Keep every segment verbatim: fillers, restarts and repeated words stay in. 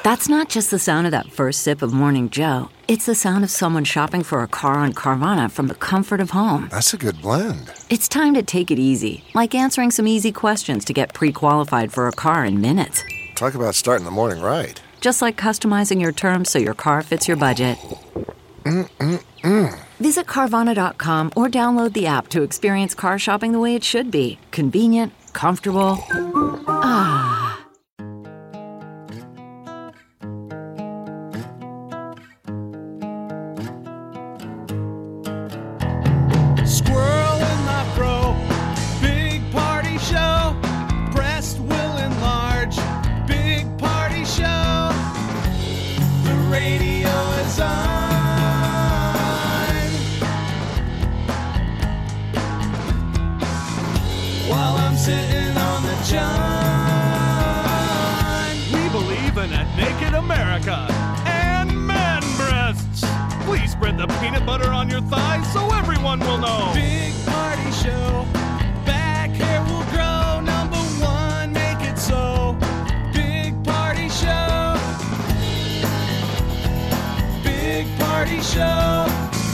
That's not just the sound of that first sip of Morning Joe. It's the sound of someone shopping for a car on Carvana from the comfort of home. That's a good blend. It's time to take it easy, like answering some easy questions to get pre-qualified for a car in minutes. Talk about starting the morning right. Just like customizing your terms so your car fits your budget. Mm-mm-mm. Visit Carvana dot com or download the app to experience car shopping the way it should be. Convenient, comfortable. Ah. Squirrel in my fro, big party show. Breast will enlarge, big party show. The radio is on. While I'm sitting on the john. We believe in a naked America and man breasts. Please spread the peanut butter on your thighs so everyone will know. Big party show. Back hair will grow. Number one, make it so. Big party show. Big party show.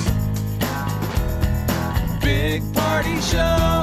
Big party show.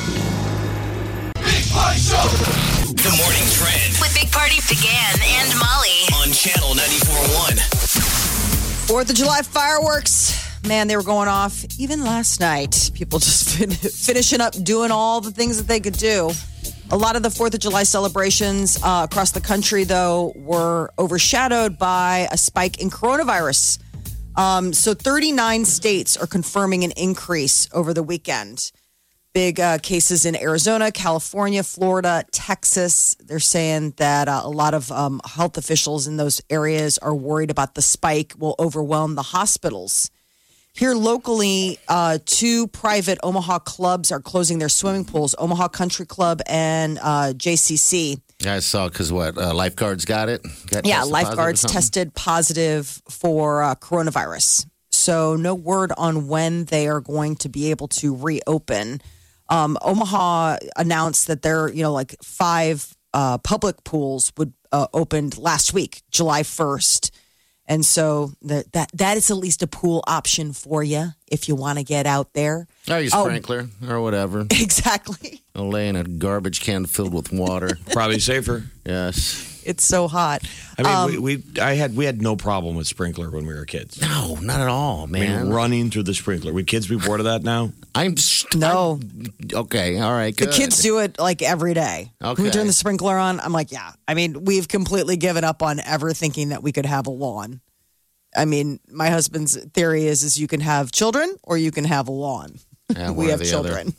Big party show. The morning trend With Big Party began and Molly. on Channel ninety-four point one. Fourth of July fireworks. Man, they were going off even last night. People just fin- finishing up doing all the things that they could do. A lot of the Fourth of July celebrations uh, across the country, though, were overshadowed by a spike in coronavirus. Um, so thirty-nine states are confirming an increase over the weekend. Big uh, cases in Arizona, California, Florida, Texas. They're saying that uh, a lot of um, health officials in those areas are worried about the spike will overwhelm the hospitals. Here locally, uh, two private Omaha clubs are closing their swimming pools, Omaha Country Club and uh, J C C. Yeah, I saw because what, uh, lifeguards got it? Got Yeah, tested lifeguards positive or something? tested positive for uh, coronavirus. So no word on when they are going to be able to reopen. Um, Omaha announced that their, you know, like five uh, public pools would uh, opened last week, July first. And so that that that is at least a pool option for you if you want to get out there. Oh, your Oh. sprinkler or whatever. Exactly. I'll lay in a garbage can filled with water. Probably safer. Yes. It's so hot. I mean, Um, we, we I had we had no problem with sprinkler when we were kids. No, not at all, I man. mean, running through the sprinkler. Would kids be bored of that now? I'm st- No. I'm- okay, all right, The good. kids do it like every day. Okay. We turn the sprinkler on. I'm like, yeah. I mean, we've completely given up on ever thinking that we could have a lawn. I mean, my husband's theory is is you can have children or you can have a lawn. Yeah, one we or have the children.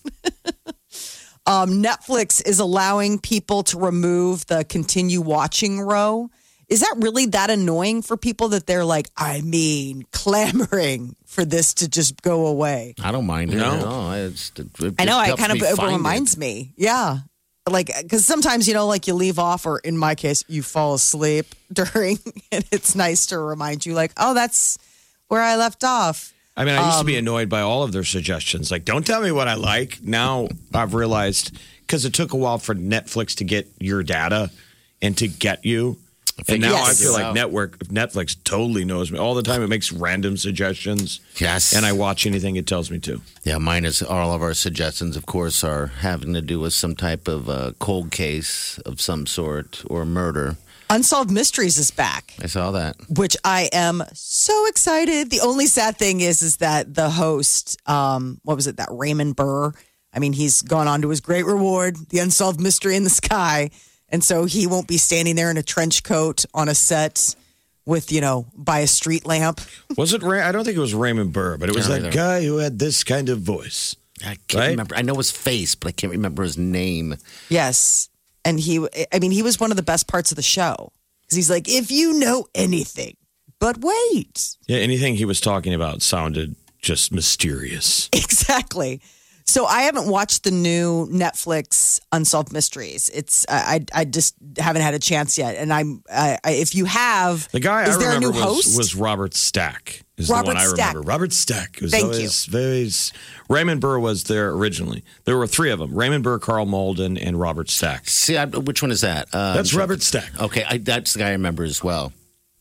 um, Netflix is allowing people to remove the continue watching row. Is that really that annoying for people that they're like, I mean, clamoring for this to just go away? I don't mind it No. at all. It's, it, it I know. just It helps kind of me it find reminds me. Yeah. Like, because sometimes, you know, like you leave off, or in my case, you fall asleep during, and it's nice to remind you, like, oh, that's where I left off. I mean, I used to Um, be annoyed by all of their suggestions. Like, don't tell me what I like. Now I've realized because it took a while for Netflix to get your data and to get you. And now Yes. I feel like Wow. network Netflix totally knows me all the time. It makes random suggestions. Yes. And I watch anything it tells me to. Yeah, mine is all of our suggestions, of course, are having to do with some type of uh, cold case of some sort or murder. Unsolved Mysteries is back, I saw that. which I am so excited. The only sad thing is, is that the host, um, what was it, that Raymond Burr? I mean, he's gone on to his great reward, the Unsolved Mystery in the Sky. And so he won't be standing there in a trench coat on a set with, you know, by a street lamp. Was it? Ray- I don't think it was Raymond Burr, but it was Yeah, that either. guy who had this kind of voice. I can't Right? remember. I know his face, but I can't remember his name. Yes. And he, I mean, he was one of the best parts of the show. Because he's like, if you know anything, but wait. Yeah, anything he was talking about sounded just mysterious. Exactly. So I haven't watched the new Netflix Unsolved Mysteries. It's I I just haven't had a chance yet. And I'm I, I, if you have, The guy is I there a remember new was, host? was Robert Stack. Is Robert the one I Stack. remember. Robert Stack. It was Thank always very. Raymond Burr was there originally. There were three of them: Raymond Burr, Carl Malden, and Robert Stack. See, I, which one is that? Um, That's Robert Stack. Okay, I, that's the guy I remember as well.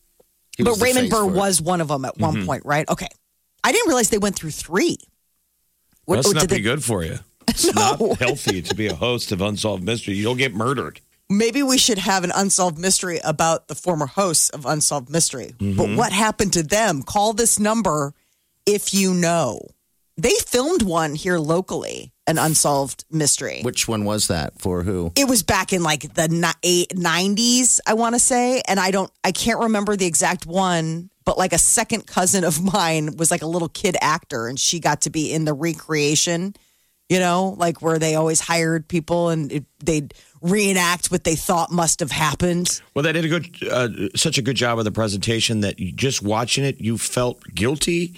He was But the Raymond face Burr for it. was one of them at one point, right? Okay, I didn't realize they went through three. What, Must oh, not did be they- good for you. It's No. not healthy to be a host of Unsolved Mystery. You'll get murdered. Maybe we should have an unsolved mystery about the former hosts of Unsolved Mystery. Mm-hmm. But what happened to them? Call this number if you know. They filmed one here locally, an Unsolved Mystery. Which one was that for who? It was back in like the ni- eight- nineties, I want to say, and I don't, I can't remember the exact one. But like a second cousin of mine was like a little kid actor, and she got to be in the recreation. You know, like where they always hired people and it, they'd reenact what they thought must have happened. Well, they did a good, uh, such a good job of the presentation that you, just watching it, you felt guilty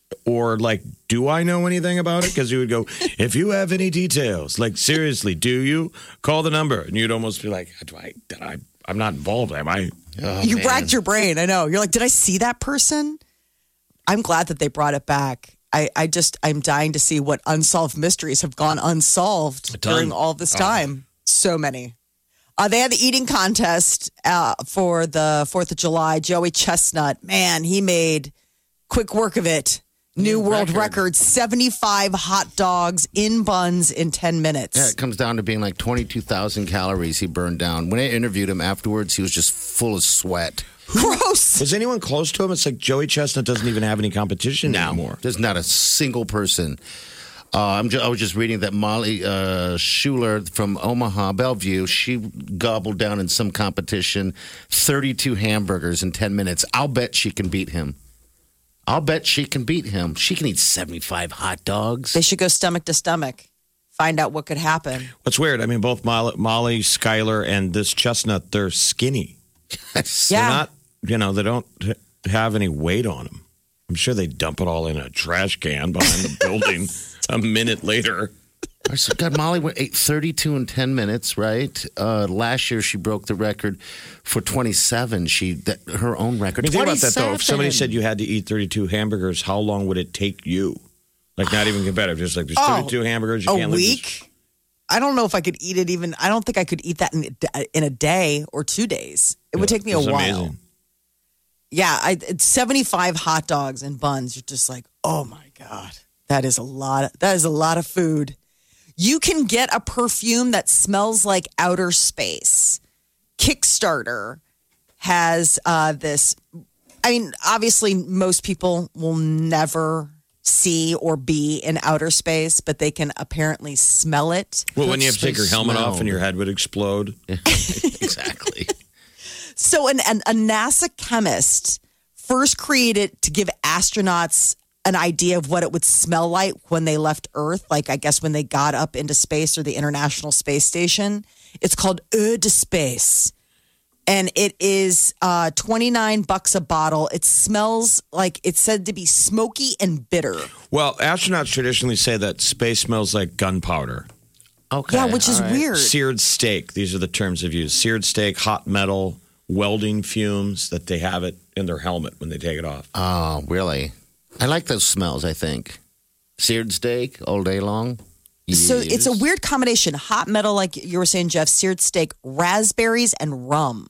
or like, do I know anything about it? Because you would go, if you have any details, like seriously, do you call the number? And you'd almost be like, do I, did I, I'm not involved, am I? Oh, You man. racked your brain. I know. You're like, did I see that person? I'm glad that they brought it back. I, I just, I'm dying to see what unsolved mysteries have gone unsolved A ton. during all this time. So many. Uh, they had the eating contest uh, for the fourth of July. Joey Chestnut, man, he made quick work of it. New world record. seventy-five hot dogs in buns in ten minutes. Yeah, it comes down to being like twenty-two thousand calories he burned down. When I interviewed him afterwards, he was just full of sweat. Gross. Was anyone close to him? It's like Joey Chestnut doesn't even have any competition anymore. There's not a single person. Uh, I'm ju- I was just reading that Molly uh, Schuler from Omaha, Bellevue, she gobbled down in some competition thirty-two hamburgers in ten minutes. I'll bet she can beat him. I'll bet she can beat him. She can eat seventy-five hot dogs. They should go stomach to stomach. Find out what could happen. What's weird? I mean, both Molly, Molly Skyler, and this Chestnut, they're skinny. Yeah. They're not, you know, they don't have any weight on them. I'm sure they dump it all in a trash can behind the building a minute later. So God, Molly went ate thirty-two in ten minutes, right? Uh, last year, she broke the record for twenty-seven. She that, her own record. I mean, think about that, though. If somebody twenty-seven. said you had to eat thirty-two hamburgers, how long would it take you? Like, not even competitive. Just like, there's Oh, thirty-two hamburgers. You a can't leave this- week? I don't know if I could eat it even. I don't think I could eat that in, in a day or two days. It would take me a It's while. amazing. Yeah, I, it's seventy-five hot dogs and buns. You're just like, oh my God, that is a lot. Of, that is a lot of food. You can get a perfume that smells like outer space. Kickstarter has uh, this. I mean, obviously, most people will never see or be in outer space, but they can apparently smell it. Well, when you have to take your helmet Smell. off and your head would explode. exactly. So, an, an, a NASA chemist first created to give astronauts an idea of what it would smell like when they left Earth, like I guess when they got up into space or the International Space Station. It's called Eau de Space. And it is uh, twenty-nine bucks a bottle. It smells like it's said to be smoky and bitter. Well, astronauts traditionally say that space smells like gunpowder. Okay. Yeah, which is all right. weird. Seared steak. These are the terms they've used. Seared steak, hot metal, welding fumes that they have it in their helmet when they take it off. Oh, really? I like those smells, I think. Seared steak all day long. So it's a Yes. weird combination. Hot metal, like you were saying, Jeff, seared steak, raspberries, and rum.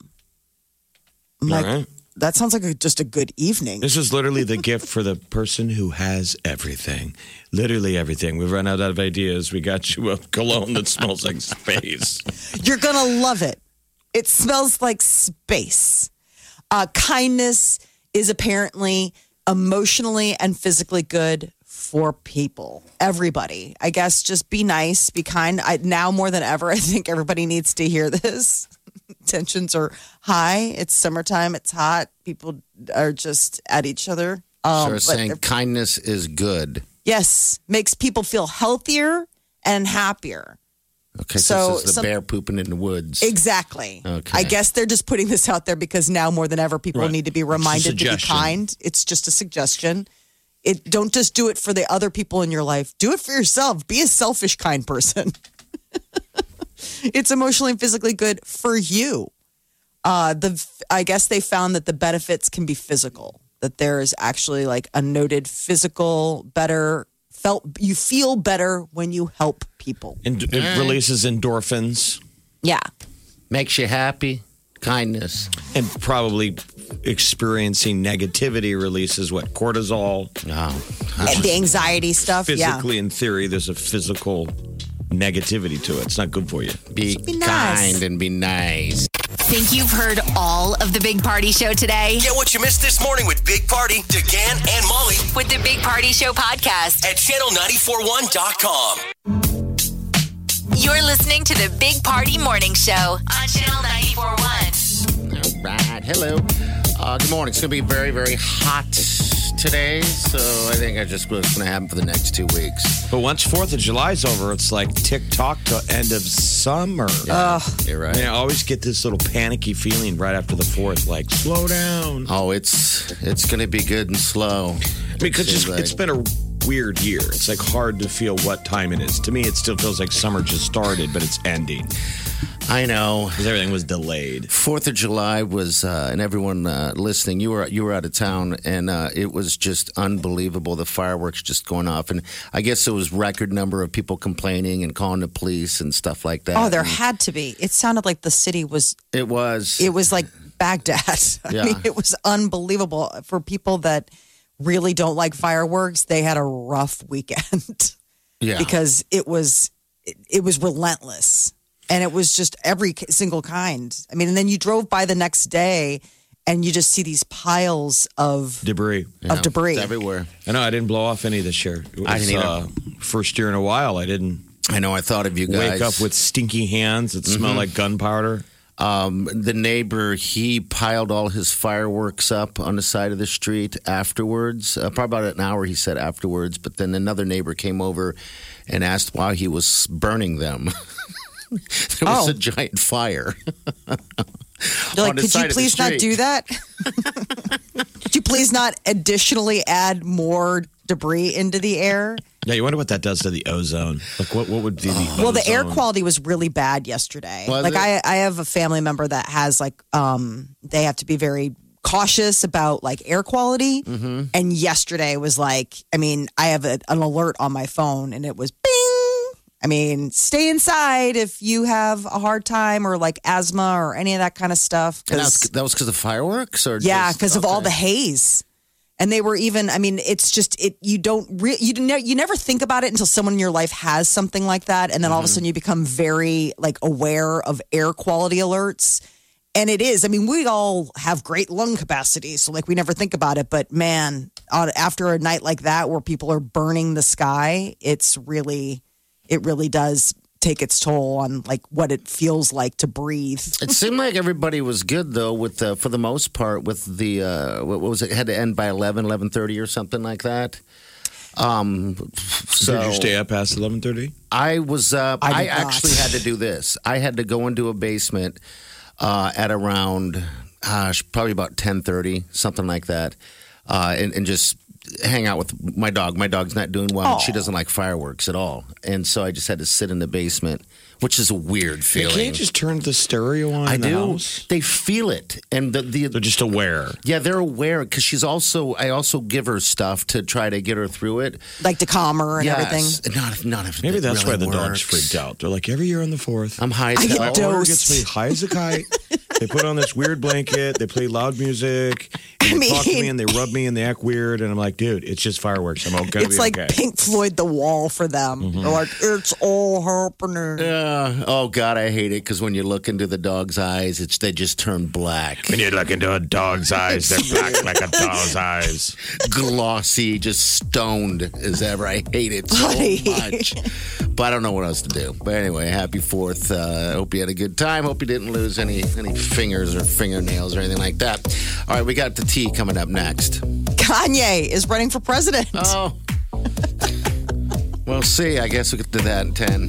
I'm All like, right. that sounds like a, just a good evening. This is literally the gift for the person who has everything. Literally everything. We've run out of ideas. We got you a cologne that smells like space. You're going to love it. It smells like space. Uh, kindness is apparently emotionally and physically good for people. Everybody. I guess just be nice, be kind. I, now more than ever, I think everybody needs to hear this. Tensions are high. It's summertime. It's hot. People are just at each other. Um, So but saying kindness is good. yes, makes people feel healthier and happier. Okay, So so, this is the some- bear pooping in the woods. Exactly. Okay. I guess they're just putting this out there because now more than ever, people Right. need to be It's a reminded to be suggestion. kind. It's just a suggestion. It don't just do it for the other people in your life. Do it for yourself. Be a selfish, kind person. It's emotionally and physically good for you. Uh, the I guess they found that the benefits can be physical. That there is actually like a noted physical better felt. You feel better when you help people. And it releases endorphins. Yeah. Makes you happy. Kindness. And probably experiencing negativity releases what? Cortisol. Oh. And the anxiety stuff. Physically, yeah. in theory, there's a physical negativity to it. It's not good for you. Be, be nice. kind and be nice. Think you've heard all of the Big Party Show today? Get what you missed this morning with Big Party, DeGan, and Molly With the Big Party Show podcast. at channel nine four one dot com. You're listening to the Big Party Morning Show on Channel ninety-four point one. All right. Hello. Uh, good morning. It's going to be very, very hot today. So I think I just what's going to happen for the next two weeks. But once fourth of July's over, it's like tick-tock to end of summer. Yeah, you're right. And I always get this little panicky feeling right after the fourth, like, slow down. Oh, it's it's going to be good and slow. Because Seems it's, like- it's been a weird year. It's like hard to feel what time it is. To me, it still feels like summer just started, but it's ending I know. because everything was delayed. Fourth of July was, uh, and everyone uh, listening, you were you were out of town, and uh, it was just unbelievable. The fireworks just going off, and I guess it was record number of people complaining and calling the police and stuff like that. Oh, there And had to be. It sounded like the city was. it was. It was like Baghdad. I Yeah. mean, it was unbelievable for people that really don't like fireworks. They had a rough weekend yeah. because it was it, it was relentless, and it was just every single kind. I mean, and then you drove by the next day, and you just see these piles of Debris. Yeah, of debris it's everywhere. I know I didn't blow off any this year. It was, I didn't either. Uh, first year in a while, I didn't I know. I thought of you guys. wake up with stinky hands that smell like gunpowder. Um, the neighbor, he piled all his fireworks up on the side of the street afterwards. Uh, probably about an hour, he said afterwards. But then another neighbor came over and asked why he was burning them. There was Oh. a giant fire. You're like, on the could side you of the please not street." do that? Could you please not additionally add more debris into the air? Yeah, you wonder what that does to the ozone. Like, what, what would be the Well, the air ozone? quality was really bad yesterday. Was like it? I, I have a family member that has like, um, they have to be very cautious about like air quality. Mm-hmm. And yesterday was like, I mean, I have a, an alert on my phone, and it was bing. I mean, stay inside if you have a hard time or like asthma or any of that kind of stuff. And that was 'Cause- that was because of fireworks, or yeah, just- because of all okay. the haze. And they were even, I mean, it's just, it. you don't, re, you, ne- you never think about it until someone in your life has something like that. And then all of a sudden you become very like aware of air quality alerts. And it is, I mean, we all have great lung capacity. So like we never think about it. But man, on, after a night like that where people are burning the sky, it's really, it really does take its toll on like what it feels like to breathe. It seemed like everybody was good though, with uh, for the most part, with the uh, what was it? Had to end by eleven, eleven thirty, or something like that. Um, so Did you stay up past eleven thirty? I was. Uh, I I, did not. actually had to do this. I had to go into a basement uh, at around, gosh, probably about ten thirty, something like that, uh, and, and just hang out with my dog. My dog's not doing well. And she doesn't like fireworks at all, and so I just had to sit in the basement, which is a weird feeling. Can't you just turn the stereo on I in the do. house? They feel it, and the the They're just aware. yeah, they're aware because she's also. I also give her stuff to try to get her through it. Like to calm her and everything. Yes, not not if Maybe it that's really why the dog's works. freaked out. They're like, every year on the fourth, I'm high as I get hell. dosed. order gets me high as a kite. They put on this weird blanket. They play loud music. And they I talk to me mean- and they rub me and they act weird. And I'm like, dude, it's just fireworks. I'm okay. It's like okay. Pink Floyd, The Wall for them. They're like, it's all happening. Yeah. Oh God, I hate it because when you look into the dog's eyes, it's they just turn black, When you look into a dog's eyes, they're black like a dog's eyes. glossy, just stoned as ever. I hate it so Buddy. much, but I don't know what else to do. But anyway, happy Fourth. I uh, hope you had a good time. Hope you didn't lose any any fingers or fingernails or anything like that. All right, we got the tea coming up next. Kanye is running for president. Oh. We'll see. I guess we could do that in ten.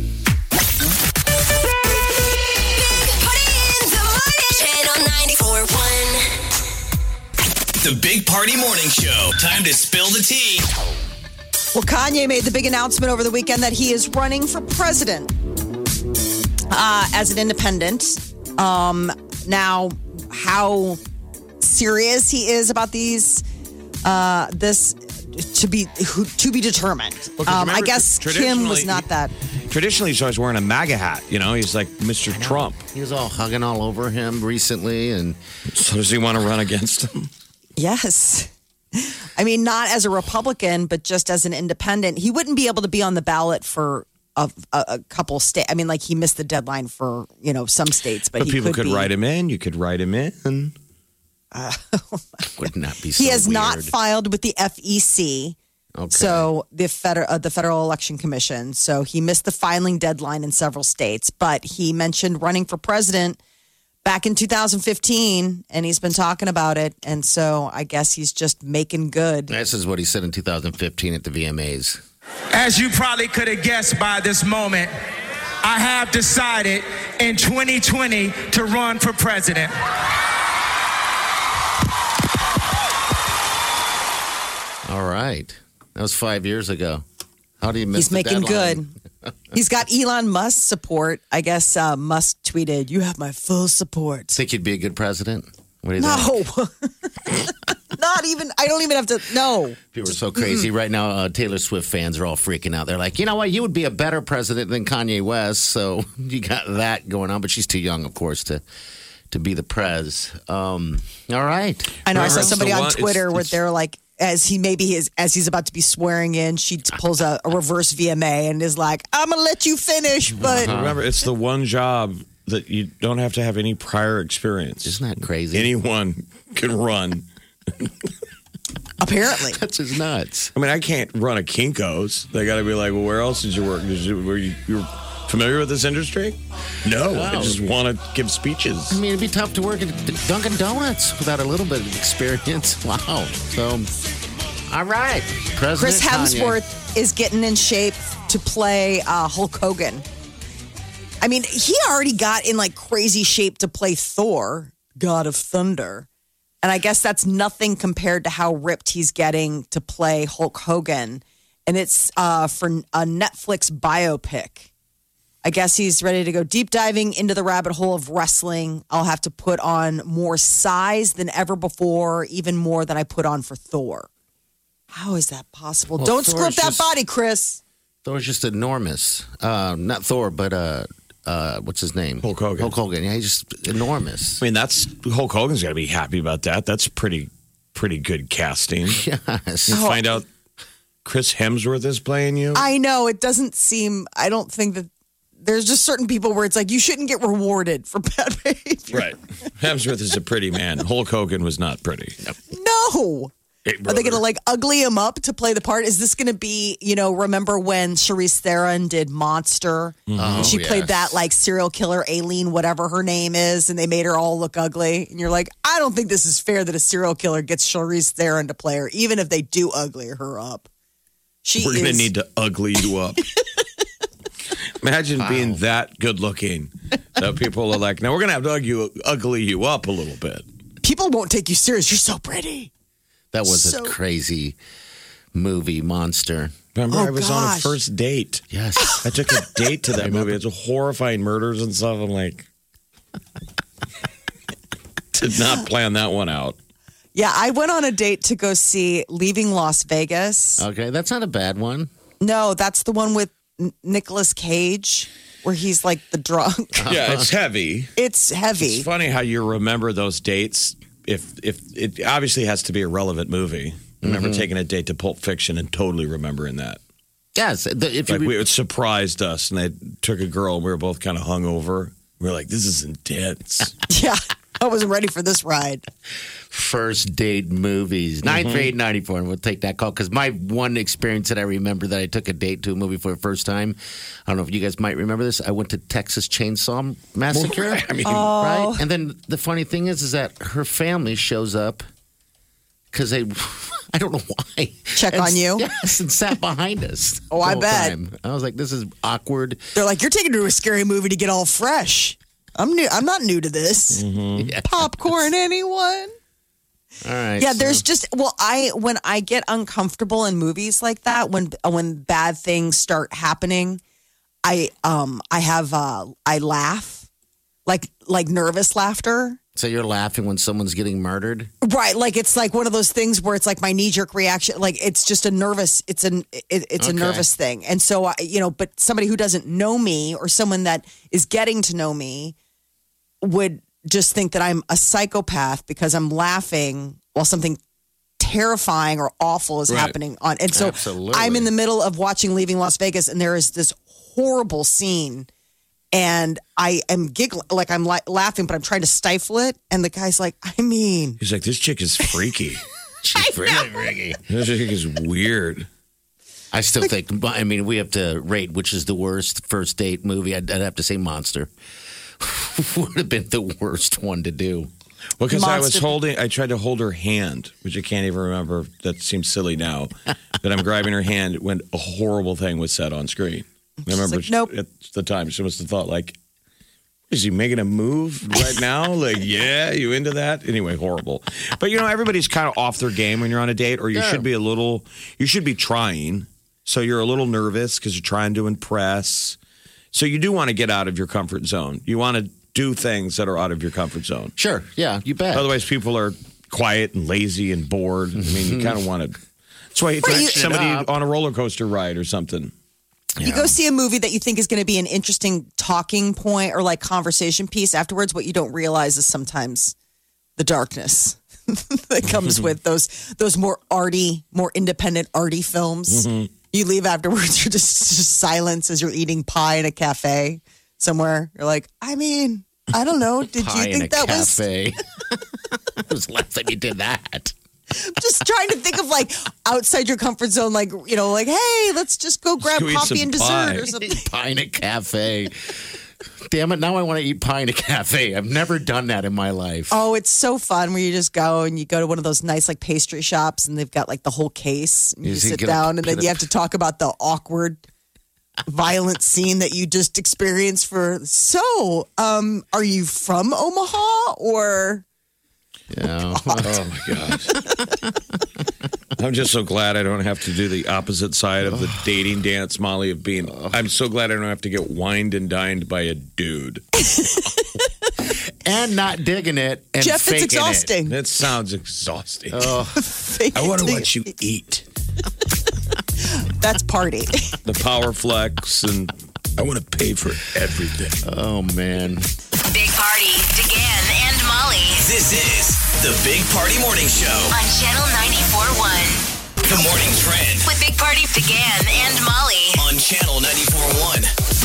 Big Party in the morning. Channel ninety-four point one. The Big Party Morning Show. Time to spill the tea. Well, Kanye made the big announcement over the weekend that he is running for president uh, as an independent. Um, now, how serious he is about these, uh, this to be who, to be determined. Well, 'cause um, I remember, guess Kim traditionally- was not that. Traditionally, he's always wearing a MAGA hat. You know, he's like Mister Trump. He was all hugging all over him recently, and So does he want to run against him? Yes. I mean, not as a Republican, but just as an independent. He wouldn't be able to be on the ballot for a, a, a couple states. I mean, like he missed the deadline for, you know, some states, but, But he people could, could be, write him in. You could write him in. would not be so He has weird. not filed with the F E C. Okay. So the federal, uh, the Federal Election Commission. So he missed the filing deadline in several states, but he mentioned running for president back in two thousand fifteen, and he's been talking about it. And so I guess he's just making good. This is what he said in two thousand fifteen at the V M As. As you probably could have guessed by this moment, I have decided in twenty twenty to run for president. All right. That was five years ago. How do you miss He's the making deadline? good. He's got Elon Musk's support. I guess uh, Musk tweeted, "You have my full support." Think you'd be a good president? What do you think? No, not even. I don't even have to. No. People are so crazy right now. Uh, Taylor Swift fans are all freaking out. They're like, you know what? You would be a better president than Kanye West. So you got that going on. But she's too young, of course, to to be the prez. Um, all right. I know. I Remember, saw it's somebody the on one- Twitter it's- where it's- they're like, as he maybe his as he's about to be swearing in, she pulls a, a reverse V M A and is like, "I'm gonna let you finish," but Remember, it's the one job that you don't have to have any prior experience. Isn't that crazy? Anyone can run. apparently, That's just nuts. I mean, I can't run a Kinko's. They got to be like, well, where else did you work? Did you, were you you're familiar with this industry? No, I No. just want to give speeches. I mean, it'd be tough to work at Dunkin' Donuts without a little bit of experience. Wow. So, all right. President Chris Kanye. Hemsworth is getting in shape to play uh, Hulk Hogan. I mean, he already got in like crazy shape to play Thor, God of Thunder. And I guess that's nothing compared to how ripped he's getting to play Hulk Hogan. And it's uh, for a Netflix biopic. I guess he's ready to go deep diving into the rabbit hole of wrestling. I'll have to put on more size than ever before, even more than I put on for Thor. How is that possible? Well, Don't screw up Thor's that just- body, Chris. Thor's just enormous. Uh, not Thor, but uh, uh, what's his name? Hulk Hogan. Hulk Hogan. Yeah, he's just enormous. I mean, that's Hulk Hogan's got to be happy about that. That's pretty, pretty good casting. Yes. You find out Chris Hemsworth is playing you. I know it doesn't seem. I don't think that there's just certain people where it's like you shouldn't get rewarded for bad behavior. Right. Hemsworth is a pretty man. Hulk Hogan was not pretty. No. Hey, Are they brother. going to like ugly him up to play the part? Is this going to be, you know, remember when Charlize Theron did Monster? Mm-hmm. And she Oh, played yes. that like serial killer Aileen, whatever her name is, and they made her all look ugly. And you're like, I don't think this is fair that a serial killer gets Charlize Theron to play her, even if they do ugly her up. She We're going to is- need to ugly you up. Imagine being that good looking. So people are like, now we're going to have to ugly, ugly you up a little bit. People won't take you serious. You're so pretty. That was So- a crazy movie, Monster. Remember, Oh, I was on a gosh. first date. Yes. I took a date to that movie. It's horrifying murders and stuff. I'm like, did not plan that one out. Yeah, I went on a date to go see Leaving Las Vegas. Okay, that's not a bad one. No, that's the one with N- Nicolas Cage, where he's like the drunk. Yeah, it's heavy. It's heavy. It's funny how you remember those dates. If if it obviously has to be a relevant movie. I remember taking a date to Pulp Fiction and totally remembering that. Yes. The, if you Like we, it surprised us, and they took a girl, and we were both kind of hungover. We were like, "This is intense." Yeah, I wasn't ready for this ride. first date movies. nine three eight nine four, and we'll take that call. Because my one experience that I remember that I took a date to a movie for the first time, I don't know if you guys might remember this. I went to Texas Chainsaw Massacre. I mean, right? And then the funny thing is, is that her family shows up because they, I don't know why. Check And on you? Yes, and sat behind us. Oh, the I whole bet. time. I was like, this is awkward. They're like, you're taking her to a scary movie to get all fresh. I'm new. I'm not new to this. Yeah. Popcorn, anyone? All right. Yeah, so- there's just well, I when I get uncomfortable in movies like that, when when bad things start happening, I um I have uh I laugh, like like nervous laughter. So you're laughing when someone's getting murdered? Right, like it's like one of those things where it's like my knee jerk reaction, like it's just a nervous, it's an it, it's a Okay. nervous thing, and so I, you know, but somebody who doesn't know me or someone that is getting to know me would just think that I'm a psychopath because I'm laughing while something terrifying or awful is Right. happening on, and so Absolutely. I'm in the middle of watching Leaving Las Vegas, and there is this horrible scene. And I am giggling, like I'm la- laughing, but I'm trying to stifle it. And the guy's like, I mean, He's like, this chick is freaky. She's really freaky. This chick is weird. I still think, I mean, we have to rate which is the worst first date movie. I'd, I'd have to say Monster. Would have been the worst one to do. Well, because I was Monster- holding, I tried to hold her hand, which I can't even remember. That seems silly now. But I'm grabbing her hand when a horrible thing was said on screen. I remember like, nope. at the time she must have thought like, is he making a move right now? Like, yeah, you into that? Anyway, horrible. But you know, everybody's kind of off their game when you're on a date, or you Yeah. should be a little, you should be trying. So you're a little nervous because you're trying to impress. So you do want to get out of your comfort zone. You want to do things that are out of your comfort zone. Sure. Yeah, you bet. Otherwise, people are quiet and lazy and bored. I mean, you kind of want to. That's why you Right, take you- somebody It up. on a roller coaster ride or something. you go see a movie that you think is going to be an interesting talking point or like conversation piece afterwards. What you don't realize is sometimes the darkness that comes with those those more arty, more independent arty films. Mm-hmm. You leave afterwards, you're just, just silence as you're eating pie in a cafe somewhere. You're like, I mean, I don't know. Did Pie you in think a that was cafe. I was laughing you did that. just trying to think of like outside your comfort zone, like, you know, like, hey, let's just go grab go eat coffee some and dessert pie. or something. Pie in a cafe. Damn it, now I want to eat pie in a cafe. I've never done that in my life. Oh, it's so fun where you just go and you go to one of those nice like pastry shops and they've got like the whole case. And you Is he sit gonna down and then put you it- have to talk about the awkward, violent scene that you just experienced for. So, um, are you from Omaha or? Yeah. Oh my gosh. I'm just so glad I don't have to do the opposite side of the dating dance, Molly, of being. I'm so glad I don't have to get wined and dined by a dude. And not digging it and Jeff, faking it's exhausting. That sounds exhausting. Fake I want it to till watch you eat. That's party. The power flex, and I want to pay for everything. Oh, man. Big Party, DeGan and Molly This is the Big Party Morning Show. on Channel ninety-four point one. The morning trend With Big Party, DeGan and Molly. on Channel ninety-four point one.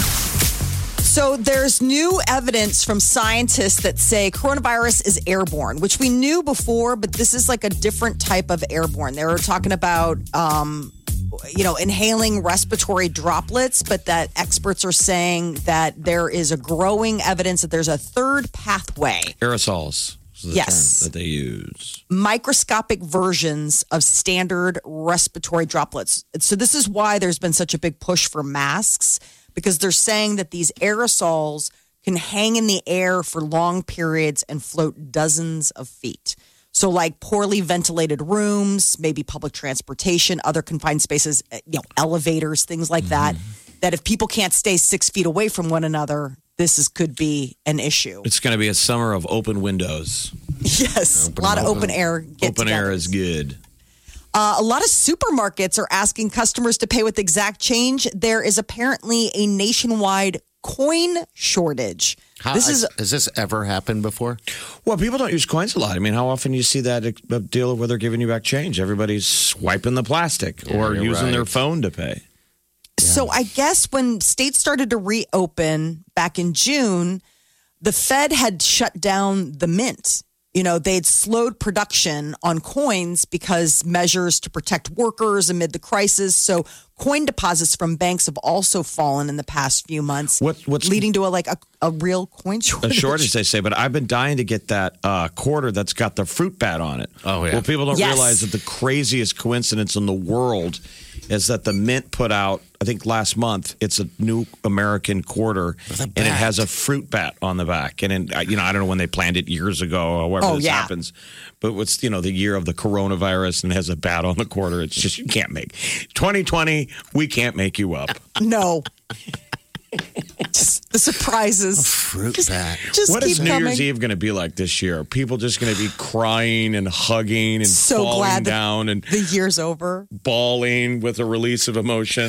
So there's new evidence from scientists that say coronavirus is airborne, which we knew before, but this is like a different type of airborne. They were talking about, um, you know, inhaling respiratory droplets, but that experts are saying that there is a growing evidence that there's a third pathway. Aerosols is the Yes. term that they use. Microscopic versions of standard respiratory droplets. So this is why there's been such a big push for masks, because they're saying that these aerosols can hang in the air for long periods and float dozens of feet. So like poorly ventilated rooms, maybe public transportation, other confined spaces, you know, elevators, things like that, that if people can't stay six feet away from one another, this is could be an issue. It's going to be a summer of open windows. Yes, a lot of open air. Open air get-togethers. is good. Uh, a lot of supermarkets are asking customers to pay with exact change. There is apparently a nationwide coin shortage. How, this is has this ever happened before? Well, people don't use coins a lot. I mean, how often do you see that uh, deal where they're giving you back change? Everybody's swiping the plastic or you're using right. their phone to pay. So I guess when states started to reopen back in June, the Fed had shut down the mint. You know, they'd slowed production on coins because measures to protect workers amid the crisis. So coin deposits from banks have also fallen in the past few months, What- what's- leading to a like a, a real coin A shortage. shortage, they say, but I've been dying to get that uh, quarter that's got the fruit bat on it. Oh, yeah. Well, people don't Yes. realize that the craziest coincidence in the world is that the mint put out I think last month. It's a new American quarter, and it has a fruit bat on the back. And in, you know, I don't know when they planned it years ago, or however Oh, this yeah. happens. But what's you know the year of the coronavirus and has a bat on the quarter? It's just you can't make twenty twenty. We can't make you up. No. Just the surprises. Fruit just, bat. Just What keep is New coming. Year's Eve going to be like this year? Are people just going to be crying and hugging and So falling glad that down and the year's over. bawling with a release of emotion?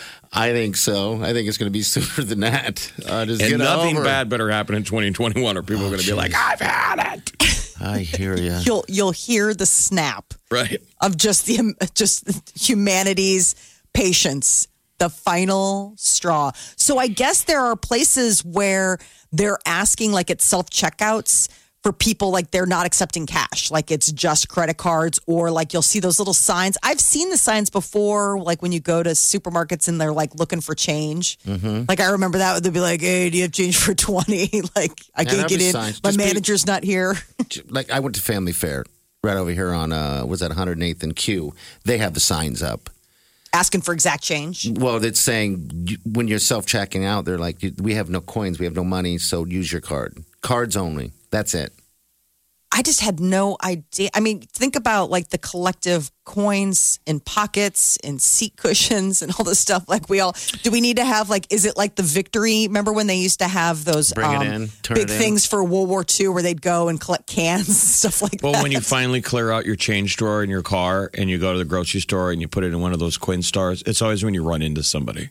I think so. I think it's going to be sooner than that. Uh, just And get nothing over. bad better happen in twenty twenty-one, or people are going to be like, I've had it. I hear you. You'll you'll hear the snap Right. of just the just humanity's patience, the final straw. So I guess there are places where they're asking, like at self checkouts, for people like they're not accepting cash, like it's just credit cards, or like you'll see those little signs. I've seen the signs before, like when you go to supermarkets and they're like looking for change. Mm-hmm. Like I remember that they'd be like, "Hey, do you have change for twenty?" Like I Yeah, can't that'd get be in. signs. My Just be- manager's not here. Like I went to Family Fair right over here on uh was that one hundred eighth and Q. They have the signs up. Asking for exact change. Well, it's saying you- when you're self checking out, they're like, we have no coins, we have no money, so use your card. Cards only. That's it. I just had no idea. I mean, think about like the collective coins in pockets and seat cushions and all this stuff. Like we all, do we need to have like, is it like the victory? Remember when they used to have those Bring it um, in, turn big it in. things for World War Two where they'd go and collect cans and stuff like Well, that? when you finally clear out your change drawer in your car and you go to the grocery store and you put it in one of those Quinn stars, it's always when you run into somebody.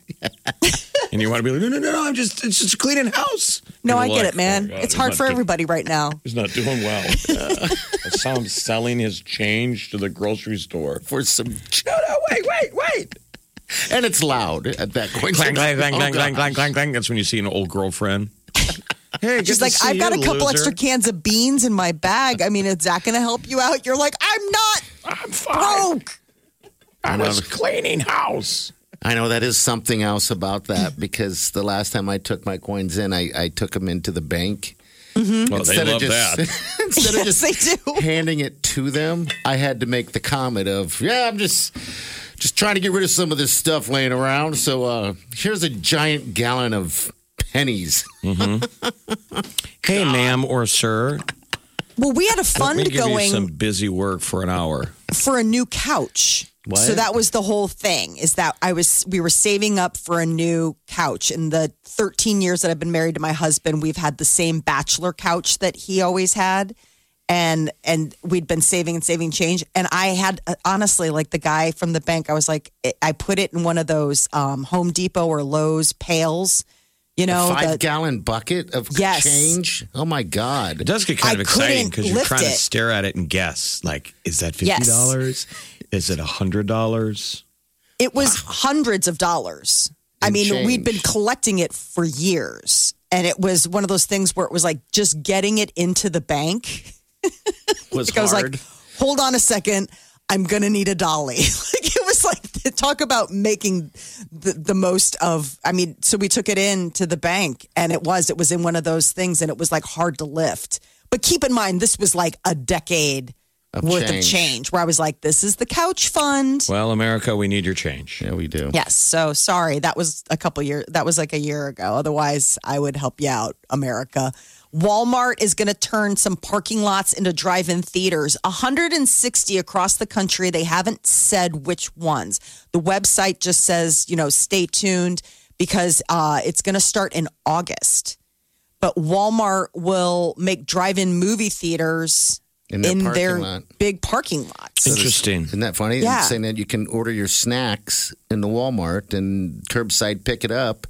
And you want to be like, no, no, no, no, I'm just, it's just cleaning house. no, I People are get like, it, man. "Oh, God, it's he's hard not for do- everybody right now. He's not doing well. I saw him selling his change to the grocery store. For some No, no, wait, wait, wait. and it's loud at that point. Clang, clang, clang, Oh, clang, clang, gosh. clang, clang, clang. That's when you see an old girlfriend. Hey, good She's to like, see I've got you, a couple loser. extra cans of beans in my bag. I mean, is that going to help you out? You're like, I'm not I'm fine. broke. I was cleaning house. I know that is something else about that because the last time I took my coins in, I, I took them into the bank. Well, they Instead love of just, that. instead Yes, of just they do. handing it to them, I had to make the comment of, yeah, I'm just just trying to get rid of some of this stuff laying around. So uh, here's a giant gallon of pennies. Hey, ma'am or sir, Well, we had a let fund me give going you some busy work for an hour. for a new couch. What? So that was the whole thing is that I was we were saving up for a new couch. In the thirteen years that I've been married to my husband, we've had the same bachelor couch that he always had. And and we'd been saving and saving change. And I had uh, honestly, like the guy from the bank, I was like, I put it in one of those um, Home Depot or Lowe's pails, you know, Five the- gallon bucket of Yes. change. Oh my It God. does get kind I of exciting couldn't because you're lift trying to it. stare at it and guess. Like, is that fifty dollars? Is it one hundred dollars? It was hundreds of dollars. I In mean, change. we'd been collecting it for years. And it was one of those things where it was like just getting it into the bank. Was I was hard. like, hold on a second. I'm going to need a dolly. Like it was like, talk about making the, the most of, I mean, so we took it in to the bank and it was, it was in one of those things and it was like hard to lift. But keep in mind, this was like a decade Of worth change. of change where I was like, this is the couch fund. Well, America, we need your change. Yeah, we do. Yes. So sorry. That was a couple years. That was like a year ago. Otherwise, I would help you out, America. Walmart is going to turn some parking lots into drive-in theaters. one hundred sixty across the country. They haven't said which ones. The website just says, you know, stay tuned because uh, it's going to start in August. But Walmart will make drive-in movie theaters In their in parking their lot. big parking lots. Interesting. Isn't that funny? Yeah. It's saying that you can order your snacks in the Walmart and curbside pick it up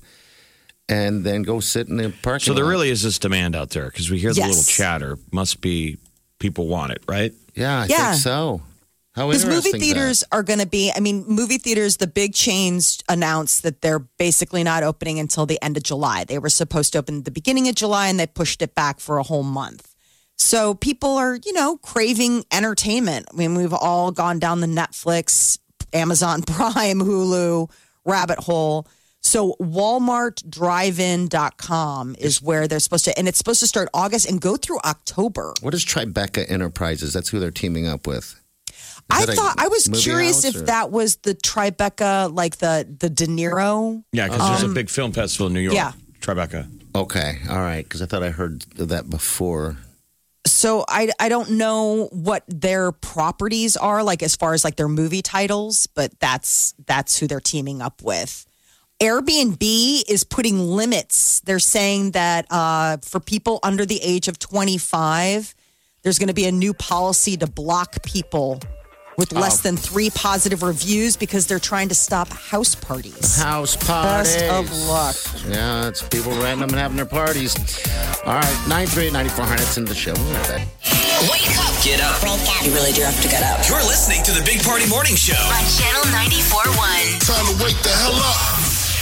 and then go sit in the parking So there lot. really is this demand out there because we hear the Yes. little chatter. Must be people want it, right? Yeah, I Yeah. think so. How Because movie interesting is that? theaters are going to be, I mean, movie theaters, the big chains announced that they're basically not opening until the end of July. They were supposed to open at the beginning of July and they pushed it back for a whole month. So people are, you know, craving entertainment. I mean, we've all gone down the Netflix, Amazon Prime, Hulu rabbit hole. So walmart drive in dot com is where they're supposed to, and it's supposed to start August and go through October. What is Tribeca Enterprises? That's who they're teaming up with. I that a thought I was movie curious house, if or- that was the Tribeca, like the the De Niro. Yeah, because there's a big film festival in New York. Yeah. Tribeca. Okay, all right, because I thought I heard that before. So I I don't know what their properties are like as far as like their movie titles, but that's that's who they're teaming up with. Airbnb is putting limits. They're saying that uh, for people under the age of twenty-five, there's going to be a new policy to block people with less than three positive reviews because they're trying to stop house parties. House parties. Best of luck. Yeah, it's people random and having their parties. All right, nine three eight, nine four hundred. It's in the show. We'll be right back. Wake up Get up. You really do have to get up. You're listening to the Big Party Morning Show. On Channel ninety-four point one. Time to wake the hell up.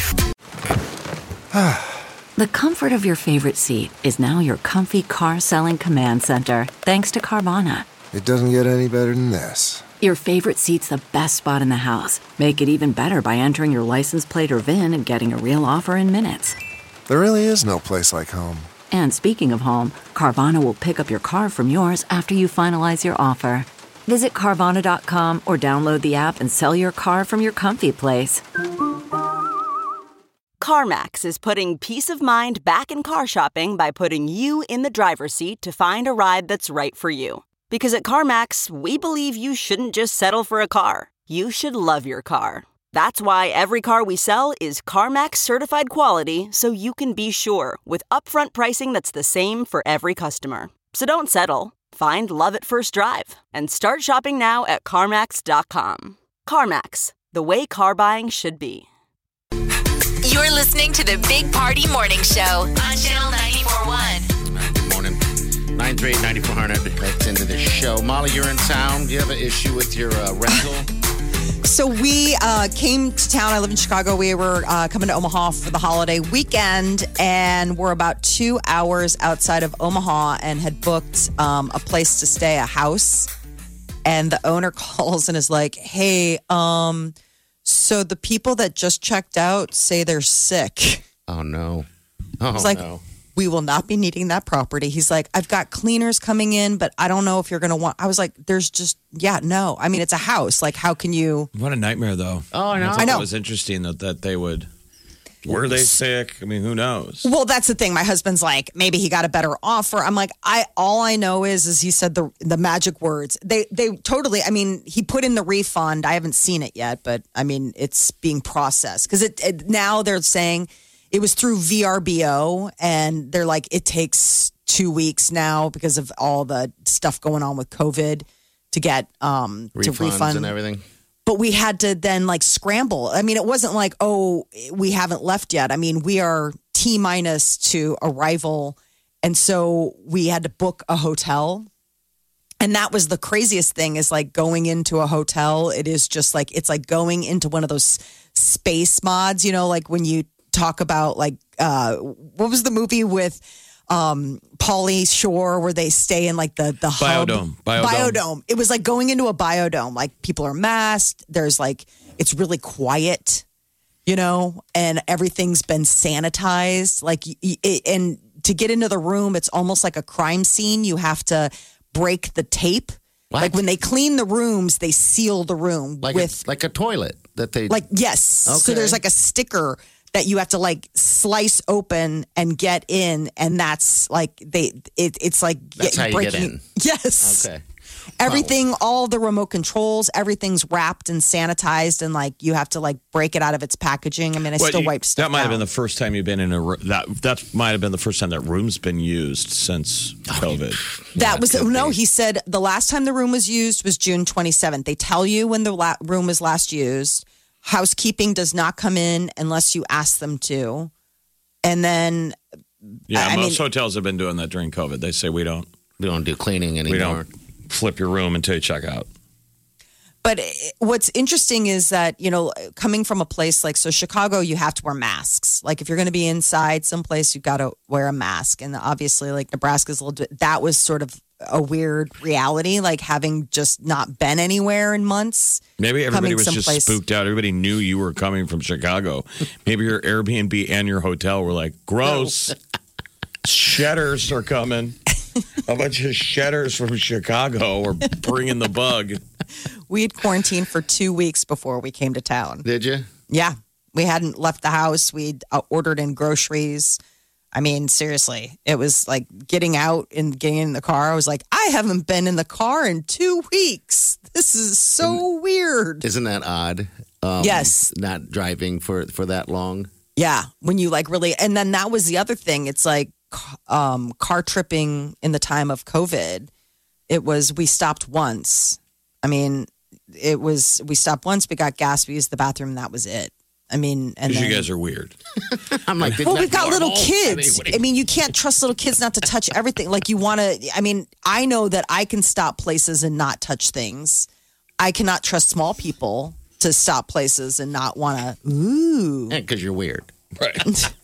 The comfort of your favorite seat is now your comfy car selling command center, thanks to Carvana. It doesn't get any better than this. Your favorite seat's the best spot in the house. Make it even better by entering your license plate or V I N and getting a real offer in minutes. There really is no place like home. And speaking of home, Carvana will pick up your car from yours after you finalize your offer. Visit Carvana dot com or download the app and sell your car from your comfy place. CarMax is putting peace of mind back in car shopping by putting you in the driver's seat to find a ride that's right for you. Because at CarMax, we believe you shouldn't just settle for a car. You should love your car. That's why every car we sell is CarMax certified quality, so you can be sure with upfront pricing that's the same for every customer. So don't settle. Find love at first drive and start shopping now at CarMax dot com. CarMax, the way car buying should be. You're listening to the Big Party Morning Show on Channel ninety-four point one. Good morning. nine three eight, nine four hundred. That's into the show. Molly, you're in town. Do you have an issue with your uh, rental? So we uh, came to town. I live in Chicago. We were uh, coming to Omaha for the holiday weekend, and we're about two hours outside of Omaha and had booked um, a place to stay, a house. And the owner calls and is like, hey, um, so the people that just checked out say they're sick. Oh, no. Oh, It's like, no. we will not be needing that property. He's like, I've got cleaners coming in, but I don't know if you're going to want. I was like, there's just, yeah, no. I mean, it's a house. Like, how can you? What a nightmare, though. Oh, I know. thought I know. It was interesting that, that they would. Were they sick? I mean, who knows? Well, that's the thing. My husband's like, maybe he got a better offer. I'm like, I all I know is is he said the the magic words. They they totally. I mean, he put in the refund. I haven't seen it yet, but I mean, it's being processed because it, it now they're saying it was through V R B O, and they're like, it takes two weeks now because of all the stuff going on with COVID to get um Refunds to refund and everything. But we had to then like scramble. I mean, it wasn't like, oh, we haven't left yet. I mean, we are T minus to arrival. And so we had to book a hotel. And that was the craziest thing is like going into a hotel. It is just like, it's like going into one of those space mods, you know, like when you talk about like, uh, what was the movie with um Pauly Shore where they stay in like the the hub. Biodome. Biodome. Biodome. It was like going into a biodome. Like people are masked. There's like it's really quiet, you know, and everything's been sanitized. Like y- y- and to get into the room, it's almost like a crime scene. You have to break the tape. What? Like when they clean the rooms, they seal the room Like with a, like a toilet that they like yes. So Okay. there's like a sticker that you have to like slice open and get in, and that's like they it, it's like That's how you get breaking- in. Yes. Okay. Everything, all the remote controls, everything's wrapped and sanitized, and like you have to like break it out of its packaging. I mean, I Well, still you- wipe stuff That might have down. been the first time you've been in a ro- that that might have been the first time that room's been used since COVID. That was could no. be. He said the last time the room was used was June twenty-seventh. They tell you when the la- room was last used. Housekeeping does not come in unless you ask them to, and then Yeah, I most mean- hotels have been doing that during COVID. They say we don't we don't do cleaning anymore. we don't flip your room until you check out. But it- what's interesting is that, you know, coming from a place like, so Chicago, you have to wear masks. Like if you're going to be inside someplace, you've got to wear a mask. And obviously like Nebraska's a little bit, that was sort of a weird reality, like having just not been anywhere in months. Maybe everybody coming was just someplace- spooked out. Everybody knew you were coming from Chicago. Maybe your Airbnb and your hotel were like, gross. Shedders are coming. A bunch of shedders from Chicago are bringing the bug. We had quarantined for two weeks before we came to town. Did you? Yeah. We hadn't left the house. We'd uh, ordered in groceries. I mean, seriously, it was like getting out and getting in the car. I was like, I haven't been in the car in two weeks. This is so and, weird. Isn't that odd? Um, yes. Not driving for, for that long. Yeah. When you like really, and then that was the other thing. It's like um, car tripping in the time of COVID. It was, we stopped once. I mean, it was, we stopped once, we got gas, we used the bathroom, and that was it. I mean, and then, you guys are weird. I'm like, well, we've got little normal? kids. I mean, I mean, you can't trust little kids not to touch everything. Like you want to, I mean, I know that I can stop places and not touch things. I cannot trust small people to stop places and not want to, ooh. Because you're weird. Right.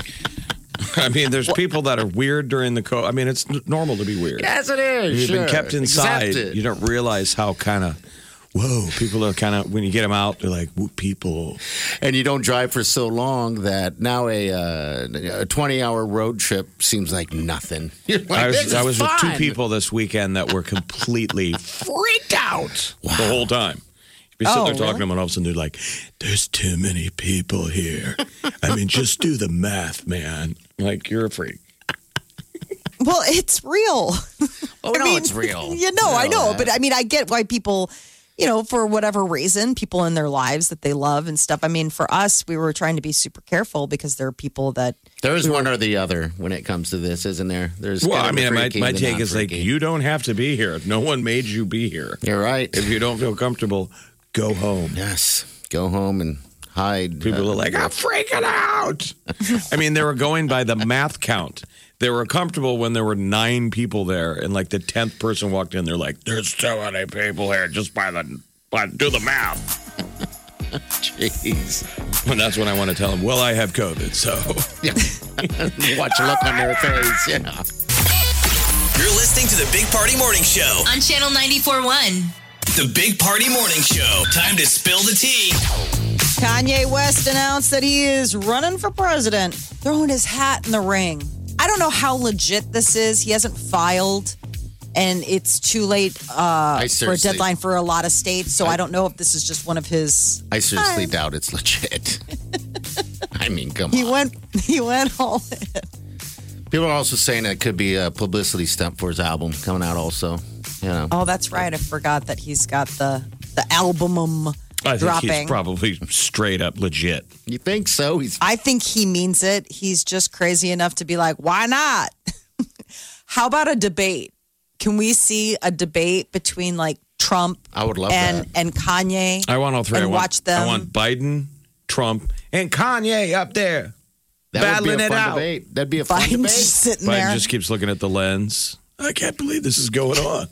I mean, there's people that are weird during the COVID. I mean, it's n- normal to be weird. Yes, it is. You've sure. been kept inside. Accept it. You don't realize how kind of, whoa, people are kind of, when you get them out, they're like, whoop, people. And you don't drive for so long that now a uh, a twenty-hour road trip seems like nothing. You're like, I was, this is I was with two fun. people this weekend that were completely freaked out Wow. the whole time. You'd be sitting Oh, there talking really? to them, and all of a sudden they're like, there's too many people here. I mean, just do the math, man. Like, you're a freak. Well, it's real. Oh, I no, mean, it's real. You know, I know. that. But I mean, I get why people, you know, for whatever reason, people in their lives that they love and stuff. I mean, for us, we were trying to be super careful because there are people that. There is one or the other when it comes to this, isn't there? There's Well, kind I of mean, a my, freaky my and a take is like, non-freaky. you don't have to be here. No one made you be here. You're right. If you don't feel comfortable, go home. Yes. Go home and hide. People Uh, are like, I'm freaking out. I mean, they were going by the math count. They were comfortable when there were nine people there, and like the tenth person walked in, they're like, there's so many people here just by the, by, do the math. Jeez. And that's when I want to tell them, well, I have COVID, so. Yeah. Watch the look on their face. Yeah. You're listening to the Big Party Morning Show. On Channel ninety-four point one. The Big Party Morning Show. Time to spill the tea. Kanye West announced that he is running for president, throwing his hat in the ring. I don't know how legit this is. He hasn't filed, and it's too late uh, for a seriously- deadline for a lot of states. So I don't know if this is just one of his. I seriously doubt it's legit. I mean, come He on. went. He went all in. People are also saying it could be a publicity stunt for his album coming out also. You know. Oh, that's right. I forgot that he's got the the album I think dropping. he's probably straight up legit. You think so? He's I think he means it. He's just crazy enough to be like, why not? How about a debate? Can we see a debate between like Trump I would love and that. and Kanye? I want all three. And I want, watch them. I want Biden, Trump, and Kanye up there. That battling would be a it fun out. debate. That'd be a fun Biden debate. just sitting Biden there. just keeps looking at the lens. I can't believe this is going on.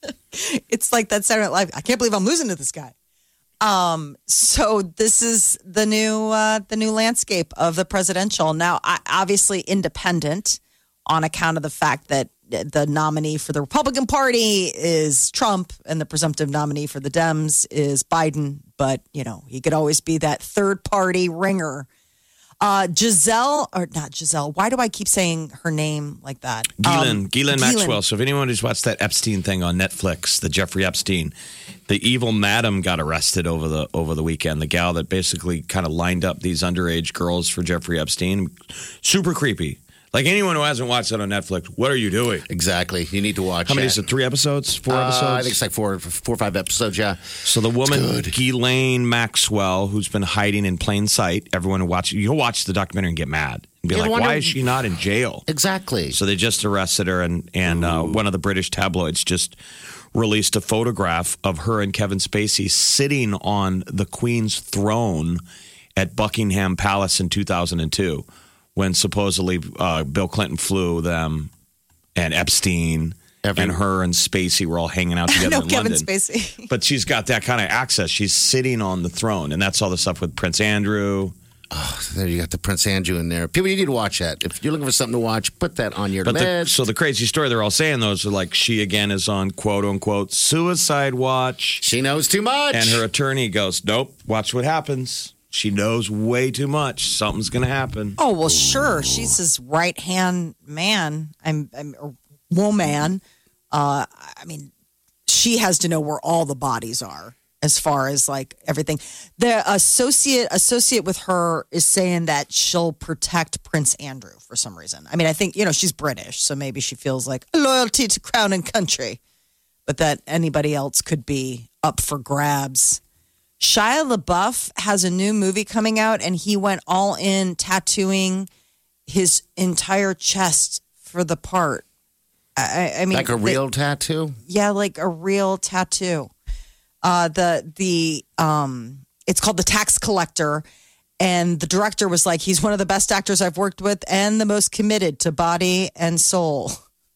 It's like that Saturday Night Live. I can't believe I'm losing to this guy. Um, so this is the new uh, the new landscape of the presidential. Now, I, obviously independent on account of the fact that the nominee for the Republican Party is Trump and the presumptive nominee for the Dems is Biden. But, you know, he could always be that third party ringer. Uh, Giselle, or not Giselle, why do I keep saying her name like that? Ghislaine, Um, Ghislaine Maxwell. So if anyone who's watched that Epstein thing on Netflix, the Jeffrey Epstein, the evil madam got arrested over the over the weekend. The gal that basically kind of lined up these underage girls for Jeffrey Epstein. Super creepy. Like anyone who hasn't watched that on Netflix, what are you doing? Exactly. You need to watch How many it. is it? Three episodes? Four Uh, episodes? I think it's like four, four or five episodes. Yeah. So the woman, good. Ghislaine Maxwell, who's been hiding in plain sight, everyone who watch you'll watch the documentary and get mad and be You like, wonder- why is she not in jail? Exactly. So they just arrested her, and and uh, one of the British tabloids just released a photograph of her and Kevin Spacey sitting on the Queen's throne at Buckingham Palace in two thousand two, when supposedly uh, Bill Clinton flew them, and Epstein Every- and her and Spacey were all hanging out together no, in Kevin London. Spacey. But she's got that kind of access. She's sitting on the throne, and that's all the stuff with Prince Andrew. Oh, there you got the Prince Andrew in there. People, you need to watch that. If you're looking for something to watch, put that on your But the, list. so the crazy story they're all saying those are like she again is on quote unquote suicide watch, she knows too much. and her attorney goes, "Nope, watch what happens. She knows way too much. Something's going to happen." Oh, well, sure. She's his right hand man. I'm, I'm or woman. Uh, I mean, she has to know where all the bodies are. as far as like everything. The associate associate with her is saying that she'll protect Prince Andrew for some reason. I mean, I think, you know, she's British, so maybe she feels like loyalty to crown and country, but that anybody else could be up for grabs. Shia LaBeouf has a new movie coming out, and he went all in tattooing his entire chest for the part. I, I mean, like a real the, tattoo? Yeah, like a real tattoo. Uh, the the um, it's called The Tax Collector, and the director was like, he's one of the best actors I've worked with, and the most committed to body and soul.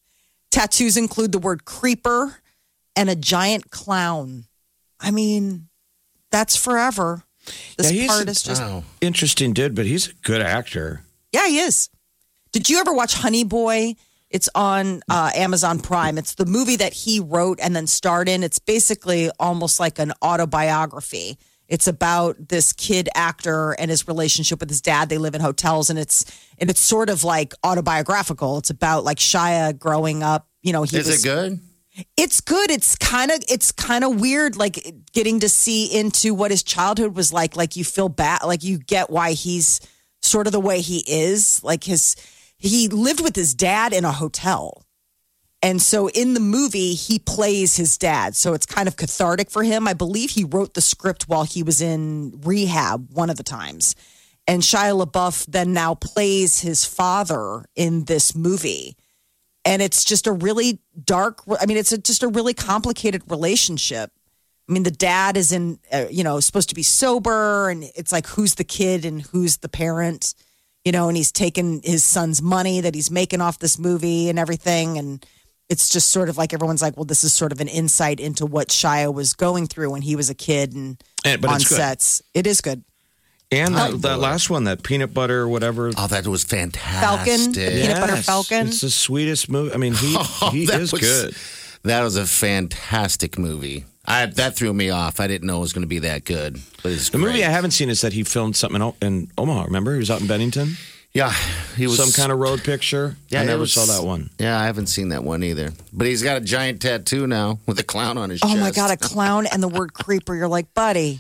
Tattoos include the word creeper and a giant clown. I mean, that's forever. This yeah, part is just wow. interesting, dude. But he's a good actor. Yeah, he is. Did you ever watch Honey Boy? It's on uh, Amazon Prime. It's the movie that he wrote and then starred in. It's basically almost like an autobiography. It's about this kid actor and his relationship with his dad. They live in hotels, and it's and it's sort of like autobiographical. It's about like Shia growing up. You know, he is was, it good? It's good. It's kind of it's kind of weird, like getting to see into what his childhood was like. Like you feel bad, like you get why he's sort of the way he is. Like his. He lived with his dad in a hotel. And so in the movie, he plays his dad. So it's kind of cathartic for him. I believe he wrote the script while he was in rehab one of the times. And Shia LaBeouf then now plays his father in this movie. And it's just a really dark, I mean, it's a, just a really complicated relationship. I mean, the dad is in, uh, you know, supposed to be sober. And it's like, who's the kid and who's the parent? You know, and he's taken his son's money that he's making off this movie and everything. And it's just sort of like everyone's like, well, this is sort of an insight into what Shia was going through when he was a kid and, and but on it's good. sets. It is good. And that, that last one, that peanut butter, whatever. Oh, that was fantastic. Falcon, the peanut Yes. butter Falcon. It's the sweetest movie. I mean, he, Oh, he that is was- good. That was a fantastic movie. I, that threw me off. I didn't know it was going to be that good. But it's The great. movie I haven't seen is that he filmed something in, O- in Omaha. Remember? He was out in Bennington. Yeah, he was Some kind of road picture. Yeah, I it never was- saw that one. Yeah, I haven't seen that one either. But he's got a giant tattoo now with a clown on his Oh chest. my God, a clown and the word creeper. You're like, buddy,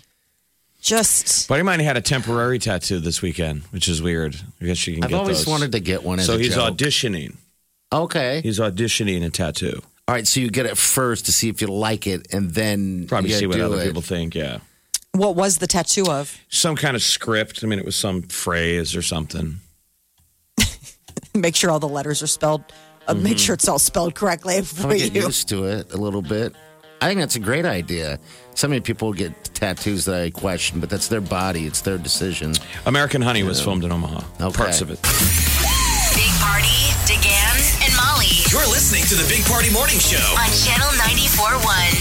just. Buddy of mine had a temporary tattoo this weekend, which is weird. I guess you can I've get always those. wanted to get one. As So a he's joke. auditioning. Okay. He's auditioning a tattoo. All right, so you get it first to see if you like it, and then Probably you see what do other it. people think, yeah. What was the tattoo of? Some kind of script. I mean, it was some phrase or something. Make sure all the letters are spelled. Uh, Make sure it's all spelled correctly for I'll get you. used to it a little bit. I think that's a great idea. So many people get tattoos that I question, but that's their body. It's their decision. American Honey was filmed in Omaha. Okay. Parts of it. Big Party, DeGan, and Molly You're listening to the Big Party Morning Show. on Channel ninety-four point one.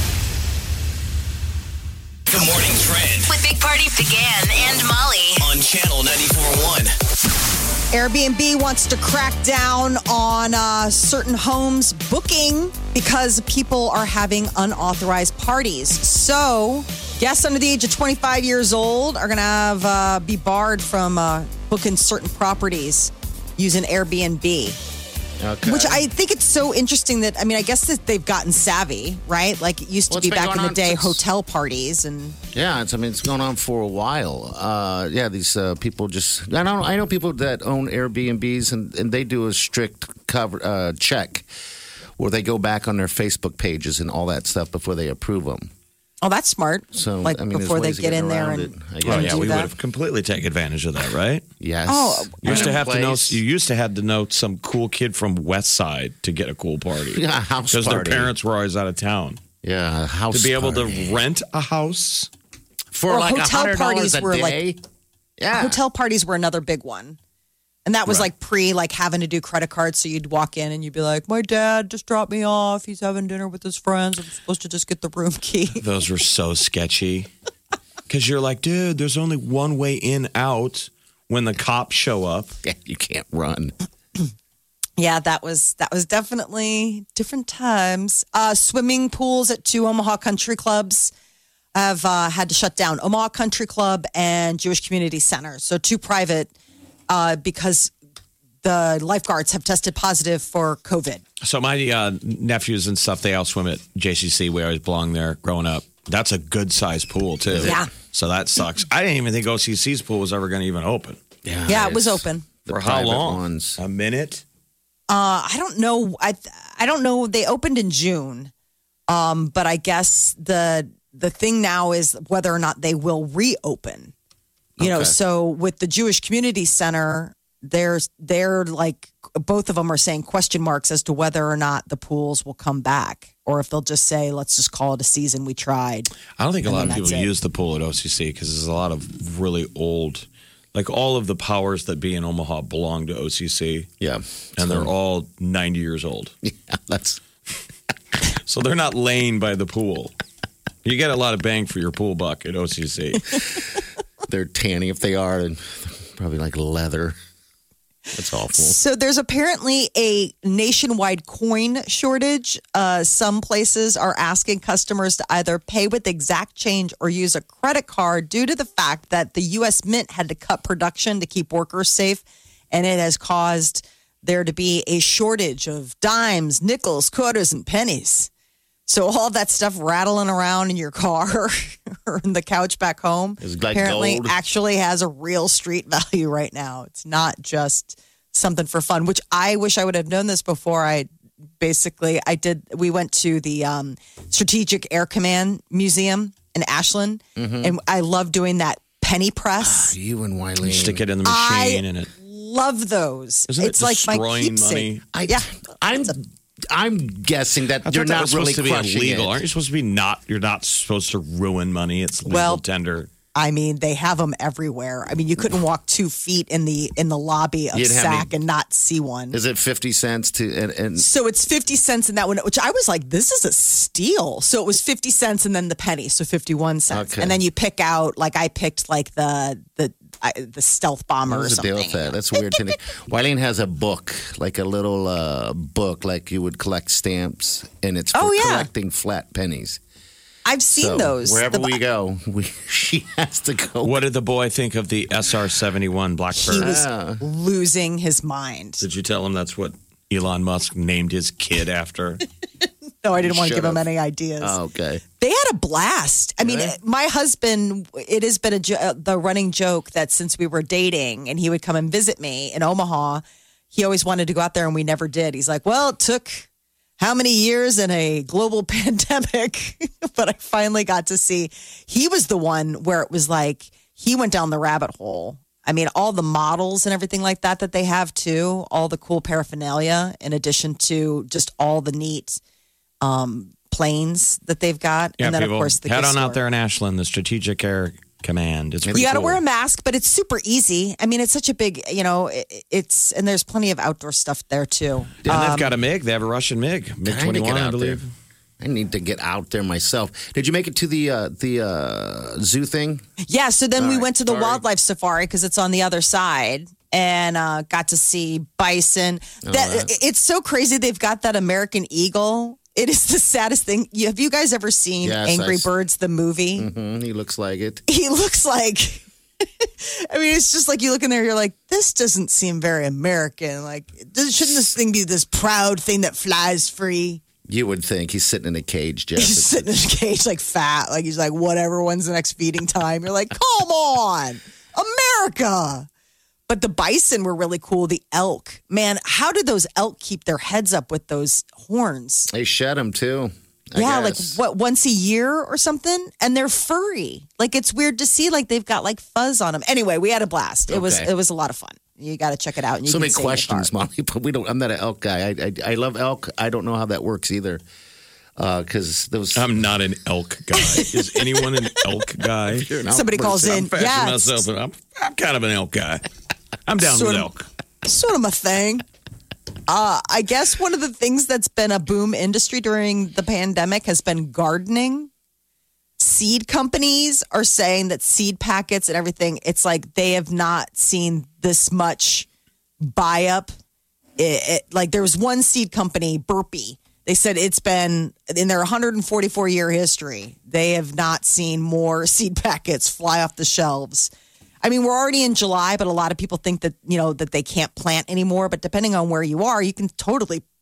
The morning trend With Big Party, DeGan, and Molly. on Channel ninety-four point one. Airbnb wants to crack down on uh, certain homes booking because people are having unauthorized parties. So, guests under the age of twenty-five years old are going to have uh, be barred from uh, booking certain properties using Airbnb. Okay. Which I think it's so interesting that, I mean, I guess that they've gotten savvy, right? Like it used to Well, it's be been back in going the on day, since- hotel parties and. Yeah, it's, I mean, it's going on for a while. Uh, yeah, these uh, people just, I know, I know people that own Airbnbs and, and they do a strict cover uh, check where they go back on their Facebook pages and all that stuff before they approve them. Oh, that's smart. So, like I mean, there's before they ways of get in getting there around and, it, I and Well, guess. yeah, do we would that. have completely taken advantage of that, right? Yes. Oh, You used to have to know. Place. You used to have to know some cool kid from West Side to get a cool party. Yeah, a house because their party. parents were always out of town. Yeah, a house To be able party. to rent a house. for Or like a hotel hundred dollars parties a were, like- day. yeah, Hotel parties were another big one. And that was Right. like pre like having to do credit cards. So you'd walk in and you'd be like, my dad just dropped me off. He's having dinner with his friends. I'm supposed to just get the room key. Those were so sketchy. Because you're like, dude, there's only one way in out when the cops show up. Yeah, you can't run. Yeah, that was that was definitely different times. Uh, swimming pools at two Omaha country clubs have uh, had to shut down. Omaha Country Club and Jewish Community Center. So two private uh, because the lifeguards have tested positive for COVID. So my uh, nephews and stuff, they all swim at J C C. We always belonged there growing up. That's a good sized pool, too. Yeah. So that sucks. I didn't even think O C C's pool was ever going to even open. Yeah, Yeah, it was it's open. the For how private long? Ones. A minute? Uh, I don't know. I I don't know. They opened in June, um, but I guess the the thing now is whether or not they will reopen. You know, Okay. so with the Jewish Community Center, there's they're like both of them are saying question marks as to whether or not the pools will come back, or if they'll just say, "Let's just call it a season. We tried." I don't think a And lot of then people that's it. use the pool at O C C because there's a lot of really old, like all of the powers that be in Omaha belong to O C C. Yeah. And they're all ninety years old. Yeah, that's So they're not laying by the pool. You get a lot of bang for your pool buck at O C C. they're tanning if they are, and probably like leather. That's awful. So there's apparently a nationwide coin shortage. Uh, some places are asking customers to either pay with exact change or use a credit card due to the fact that the U S Mint had to cut production to keep workers safe. And it has caused there to be a shortage of dimes, nickels, quarters, and pennies. So all that stuff rattling around in your car or in the couch back home It's like apparently gold. actually has a real street value right now. It's not just something for fun, which I wish I would have known this before. I basically, I did, we went to the um, Strategic Air Command Museum in Ashland, Mm-hmm. and I love doing that penny press. You and You Wileen. stick it in the I- machine and it. Love those. Isn't it it's like my destroying keepsake. money? I, Yeah. I'm. I'm guessing that I you're thought that not was really supposed to be crushing illegal. it. Aren't you supposed to be not? You're not supposed to ruin money. It's legal Well, tender. I mean, they have them everywhere. I mean, you couldn't walk two feet in the in the lobby of You'd have S A C me- and not see one. Is it fifty cents to and, and So it's fifty cents in that one, which I was like, this is a steal. So it was fifty cents and then the penny, so fifty-one cents. Okay. And then you pick out, like I picked like the the I, the stealth bomber or What's the something. deal with that? That's weird to me. Wileen has a book, like a little uh, book, like you would collect stamps, and it's for Oh, yeah. collecting flat pennies. I've seen So those. wherever The- we go, we, she has to go. What did the boy think of the S R seventy-one Blackbird? He was Ah. losing his mind. Did you tell him that's what Elon Musk named his kid after? No, I didn't want to Should give him have. any ideas. Oh, okay. They had a blast. I mean, Really? my husband, it has been a, jo- uh, the running joke that since we were dating and he would come and visit me in Omaha, he always wanted to go out there and we never did. He's like, well, it took how many years in a global pandemic? But I finally got to see. He was the one where it was like, he went down the rabbit hole. I mean, all the models and everything like that that they have too, all the cool paraphernalia, in addition to just all the neat um, planes that they've got. Yeah, and then, people, of course, the head gift on store. out there in Ashland, the Strategic Air Command. It's pretty You got to cool. wear a mask, but it's super easy. I mean, it's such a big, you know, it, it's, and there's plenty of outdoor stuff there too. And Um, they've got a MiG. They have a Russian MiG. MiG I need to get twenty-one, I out believe. there. I need to get out there myself. Did you make it to the uh, the uh, zoo thing? Yeah, so then All we right, went to the sorry. wildlife safari because it's on the other side and uh, got to see bison. Oh, that, that- It's so crazy. They've got that American eagle. It is the saddest thing. You- Have you guys ever seen Yes, I Angry s- Birds, the movie? Mm-hmm, he looks like it. He looks like, I mean, it's just like you look in there, you're like, this doesn't seem very American. Like, does, shouldn't this thing be this proud thing that flies free? You would think he's sitting in a cage, Jeff. He's sitting in a cage, like fat. Like, he's like, whatever, when's the next feeding time? You're like, come on, America. But the bison were really cool. The elk, man, how did those elk keep their heads up with those horns? They shed him too. I yeah, guess. like what, once a year or something? And they're furry. Like, it's weird to see, like, they've got like fuzz on them. Anyway, we had a blast. It was Okay. it was a lot of fun. You got to check it out. And you So can many stay in the questions, car. Molly, but we don't. I'm not an elk guy. I I, I love elk. I don't know how that works either. Because those. I'm not an elk guy. Is anyone an elk guy? You're an elk Somebody calls person. in. I'm fashioning Yeah, myself, but I'm, I'm kind of an elk guy. I'm down Sort with of- elk. Sort of my thing. Uh, I guess one of the things that's been a boom industry during the pandemic has been gardening. Seed companies are saying that seed packets and everything, it's like they have not seen this much buy up. It, it, like there was one seed company, Burpee. They said it's been in their one hundred forty-four year history, they have not seen more seed packets fly off the shelves. I mean, we're already in July, but a lot of people think that, you know, that they can't plant anymore. But depending on where you are, you can totally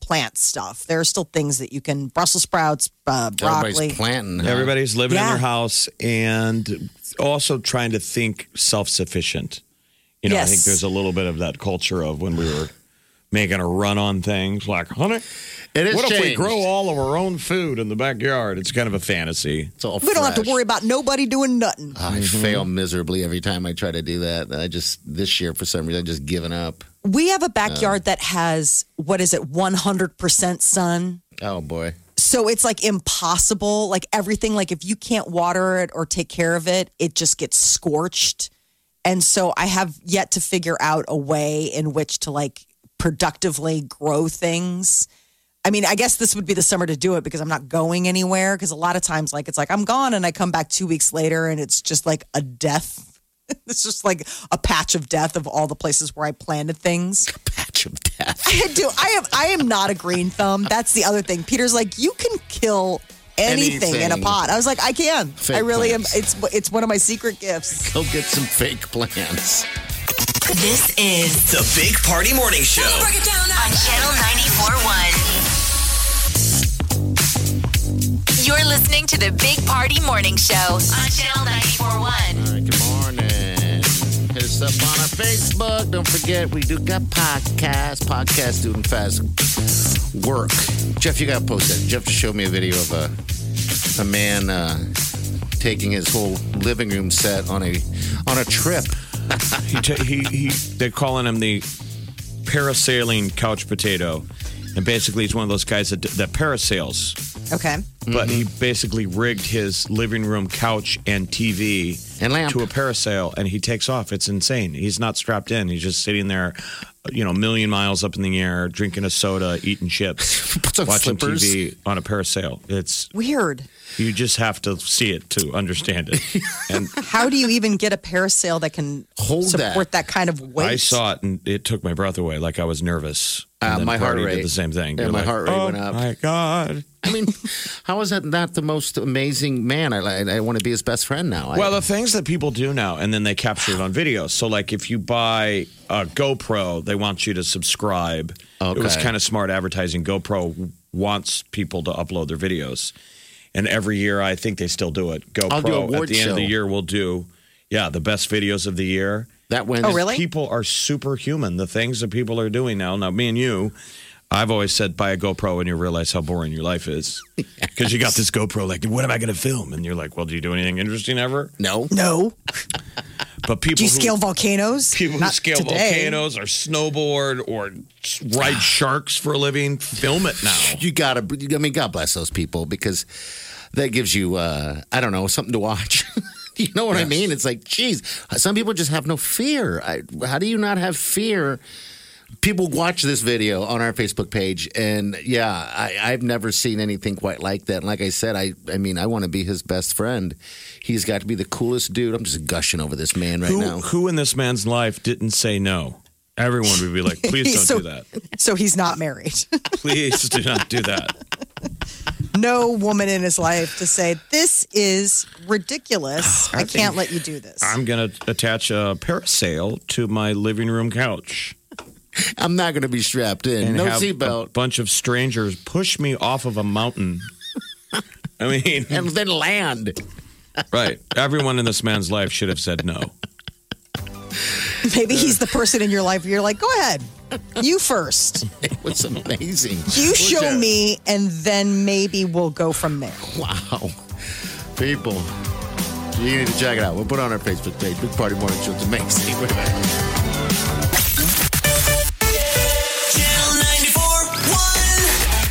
plant stuff. There are still things that you can, Brussels sprouts, uh, broccoli. Everybody's planting. Huh? Everybody's living Yeah. in their house and also trying to think self-sufficient. You know, I Yes. think there's a little bit of that culture of when we were making a run on things like, honey, It is what if we changed. grow all of our own food in the backyard? It's kind of a fantasy. It's all We don't have to fresh. worry about nobody doing nothing. I fail miserably every time I try to do that. I just, this year, for some reason, I just given up. We have a backyard that has, what is it, one hundred percent sun. Oh, boy. So it's like impossible. Like everything, like if you can't water it or take care of it, it just gets scorched. And so I have yet to figure out a way in which to like productively grow things. I mean, I guess this would be the summer to do it because I'm not going anywhere. Because a lot of times, like, it's like I'm gone and I come back two weeks later and it's just like a death. It's just like a patch of death of all the places where I planted things. Patch of death. I do. I am. I am not a green thumb. That's the other thing. Peter's like, you can kill anything, in a Anything. pot. I was like, I can. Fake I really plants. am. It's it's one of my secret gifts. Go get some fake plants. This is The Big Party Morning Show. on Channel ninety-four point one. You're listening to the Big Party Morning Show on Channel ninety-four point one. All right, good morning. Hit us up on our Facebook. Don't forget, we do got podcasts. Podcast doing fast work. Jeff, you got to post that. Jeff just showed me a video of a, a man uh, taking his whole living room set on a on a trip. he, t- he, he, they're calling him the parasailing couch potato. And basically, he's one of those guys that, that parasails. Okay. But he basically rigged his living room couch and T V And lamp. to a parasail, and he takes off. It's insane. He's not strapped in. He's just sitting there, you know, a million miles up in the air, drinking a soda, eating chips, Puts on watching flippers. T V on a parasail. It's Weird. you just have to see it to understand it. And How do you even get a parasail that can Hold support that. kind of weight? I saw it, and it took my breath away. Like I was nervous. And Uh, then my heart Party rate. did the same thing. Yeah, You're my like, heart rate oh, went up. My God. I mean, how is that not the most amazing man? I, I, I want to be his best friend now. Well, I, the things that people do now, and then they capture it on video. So, like, if you buy a GoPro, they want you to subscribe. Okay. It was kind of smart advertising. GoPro wants people to upload their videos. And every year, I think they still do it. GoPro, I'll do a at award the end of the show. year, will do, yeah, the best videos of the year. that wins. Oh, really? People are superhuman. The things that people are doing now. Now, me and you, I've always said buy a GoPro and you realize how boring your life is. Because you got this GoPro, like, what am I going to film? And you're like, well, do you do anything interesting ever? No. No. But people Do you who, scale volcanoes? people who Not scale today. volcanoes or snowboard or ride sharks for a living, film it now. You gotta. I mean, God bless those people because that gives you, uh, I don't know, something to watch. You know what I Yes. mean? It's like, geez, some people just have no fear. I, how do you not have fear? People watch this video on our Facebook page, and yeah, I, I've never seen anything quite like that. And like I said, I, I mean, I want to be his best friend. He's got to be the coolest dude. I'm just gushing over this man right Who, now. who in this man's life didn't say no? Everyone would be like, please don't So- do that. So he's not married. Please do not do that. No woman in his life to say, this is ridiculous. I, can't let you do this. I'm going to attach a parasail to my living room couch. I'm not going to be strapped in. And No have a seatbelt. bunch of strangers push me off of a mountain. I mean, And then land. right. Everyone in this man's life should have said no. Maybe he's the person in your life where you're like, go ahead. You first. It was amazing. You show me, and then maybe we'll go from there. Wow. People, you need to check it out. We'll put it on our Facebook page. Big Party Morning Show. It's amazing. We're back. Channel ninety-four point one.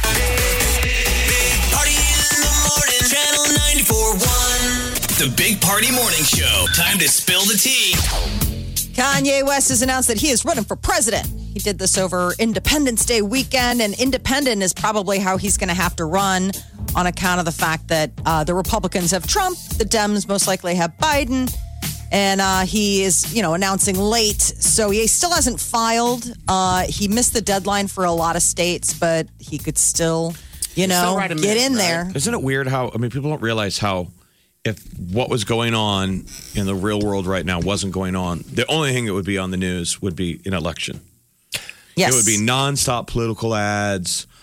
Big Party in the morning. Channel ninety-four point one. The Big Party Morning Show. Time to spill the tea. Kanye West has announced that he is running for president. He did this over Independence Day weekend, and independent is probably how he's going to have to run on account of the fact that uh, the Republicans have Trump, the Dems most likely have Biden, and uh, he is, you know, announcing late. So he still hasn't filed. Uh, he missed the deadline for a lot of states, but he could still, you know, still write him get in, in right? there. Isn't it weird how, I mean, people don't realize how, if what was going on in the real world right now wasn't going on, the only thing that would be on the news would be an election. Yes. It would be nonstop political ads,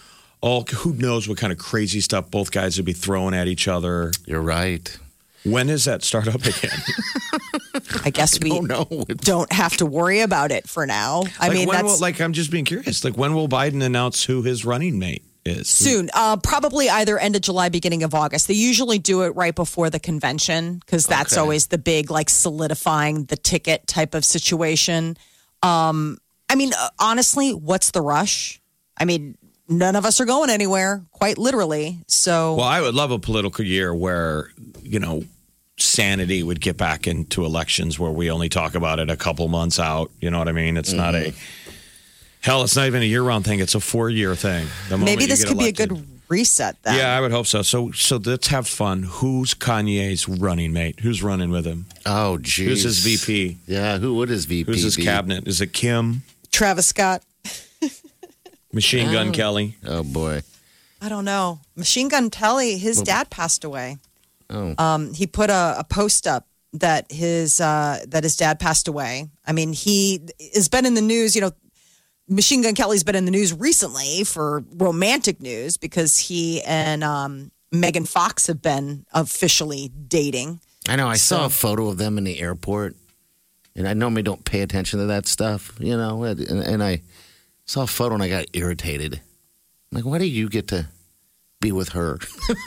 all who knows what kind of crazy stuff both guys would be throwing at each other. You're right. When does that start up again? I guess we don't know. don't have to worry about it for now. I like mean, when that's will, like I'm just being curious. Like when will Biden announce who his running mate is? soon. Uh, probably either end of July, beginning of August. They usually do it right before the convention because that's Okay. always the big, like, solidifying the ticket type of situation. Um, I mean, uh, honestly, what's the rush? I mean, none of us are going anywhere, quite literally. So, Well, I would love a political year where, you know, sanity would get back into elections where we only talk about it a couple months out. You know what I mean? It's not a hell. It's not even a year-round thing. It's a four-year thing. The moment maybe you this get could elected. be a good reset then. Yeah, I would hope so. So, so let's have fun. Who's Kanye's running mate? Who's running with him? Oh, geez. Who's his V P? Yeah, who would his V P Who's his be? cabinet? Is it Kim? Travis Scott. Machine Gun Kelly? Oh, boy. I don't know. Machine Gun Kelly, his dad passed away. Oh. Um, he put a, a post up that his uh, that his dad passed away. I mean, he has been in the news. You know, Machine Gun Kelly's been in the news recently for romantic news because he and um, Megan Fox have been officially dating. I know. I saw So- a photo of them in the airport, and I normally don't pay attention to that stuff, you know. And, and I saw a photo and I got irritated. I'm like, why do you get to be with her?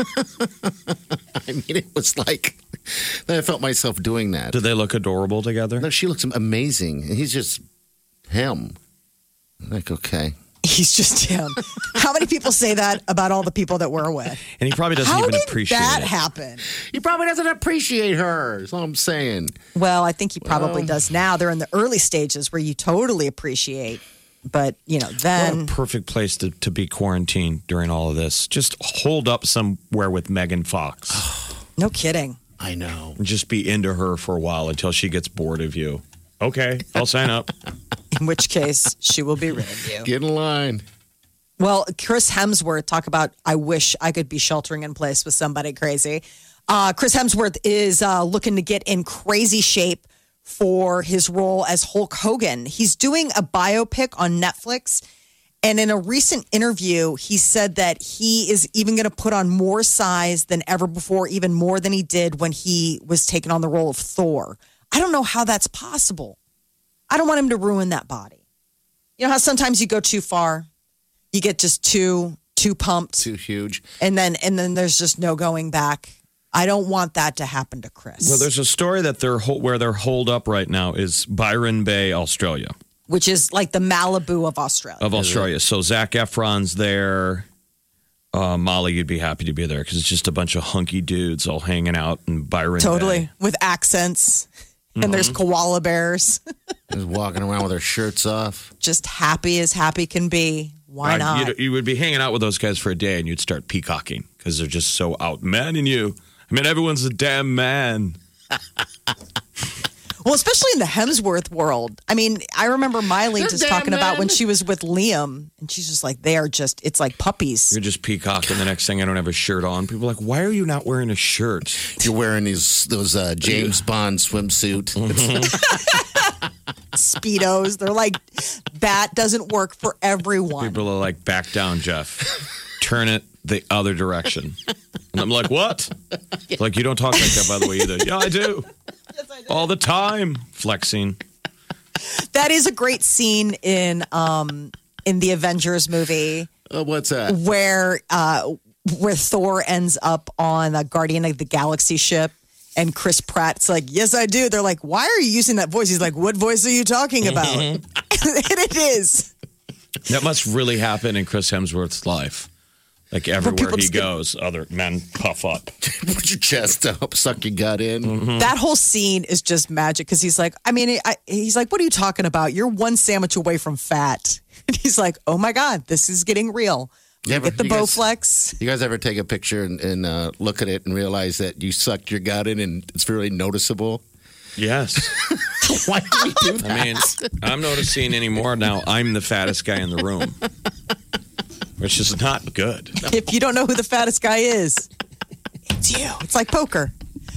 I mean, it was like I felt myself doing that. Do they look adorable together? No, she looks amazing. And he's just him. I'm like, okay. He's just him. How many people say that about all the people that we're with? And he probably doesn't How even did appreciate that it. happen? He probably doesn't appreciate her. That's all I'm saying. Well, I think he probably does now. They're in the early stages where you totally appreciate. But, you know, What then a perfect place to, to be quarantined during all of this. Just hold up somewhere with Megan Fox. no kidding. I know. And just be into her for a while until she gets bored of you. Okay, I'll sign up. In which case, she will be rid of you. Get in line. Well, Chris Hemsworth, talk about, I wish I could be sheltering in place with somebody crazy. Uh, Chris Hemsworth is uh, looking to get in crazy shape for his role as Hulk Hogan. He's doing a biopic on Netflix. And in a recent interview, he said that he is even going to put on more size than ever before, even more than he did when he was taking on the role of Thor. I don't know how that's possible. I don't want him to ruin that body. You know how sometimes you go too far? You get just too too pumped, Too huge. and then and then there's just no going back. I don't want that to happen to Chris. Well, there's a story that they're hol- where they're holed up right now is Byron Bay, Australia. which is like the Malibu of Australia. Of Australia. So Zach Efron's there. Uh, Molly, you'd be happy to be there because it's just a bunch of hunky dudes all hanging out in Byron Totally. Bay. With accents. And there's koala bears. Just walking around with their shirts off. Just happy as happy can be. Why Uh, not? you'd- You would be hanging out with those guys for a day and you'd start peacocking because they're just so outmanning you. I mean, everyone's a damn man. Well, especially in the Hemsworth world. I mean, I remember Miley They're just damn talking about when men. she was with Liam, and she's just like, they are just, it's like puppies. You're just peacocking. The next thing I don't have a shirt on. People are like, why are you not wearing a shirt? You're wearing these those uh, James Bond swimsuit. Speedos. They're like, that doesn't work for everyone. People are like, back down, Jeff. Turn it the other direction. And I'm like, what? Like, you don't talk like that, by the way, either. Yeah, I do. All the time. Flexing. That is a great scene in um in the Avengers movie Oh, what's that? where uh where Thor ends up on a Guardian of the Galaxy ship. And Chris Pratt's like, yes, I do. They're like, why are you using that voice? He's like, what voice are you talking about? and it is. That must really happen in Chris Hemsworth's life. Like, everywhere people he just get- goes, other men puff up. Put your chest up, suck your gut in. Mm-hmm. That whole scene is just magic because he's like, I mean, I, he's like, what are you talking about? You're one sandwich away from fat. And he's like, oh my God, this is getting real. You ever- Get the you guys- Bowflex. You guys ever take a picture and, and uh, look at it and realize that you sucked your gut in and it's really noticeable? Yes. Why do we do that? I mean, I'm noticing anymore now I'm the fattest guy in the room. Which is not good. If you don't know who the fattest guy is, it's you. It's like poker.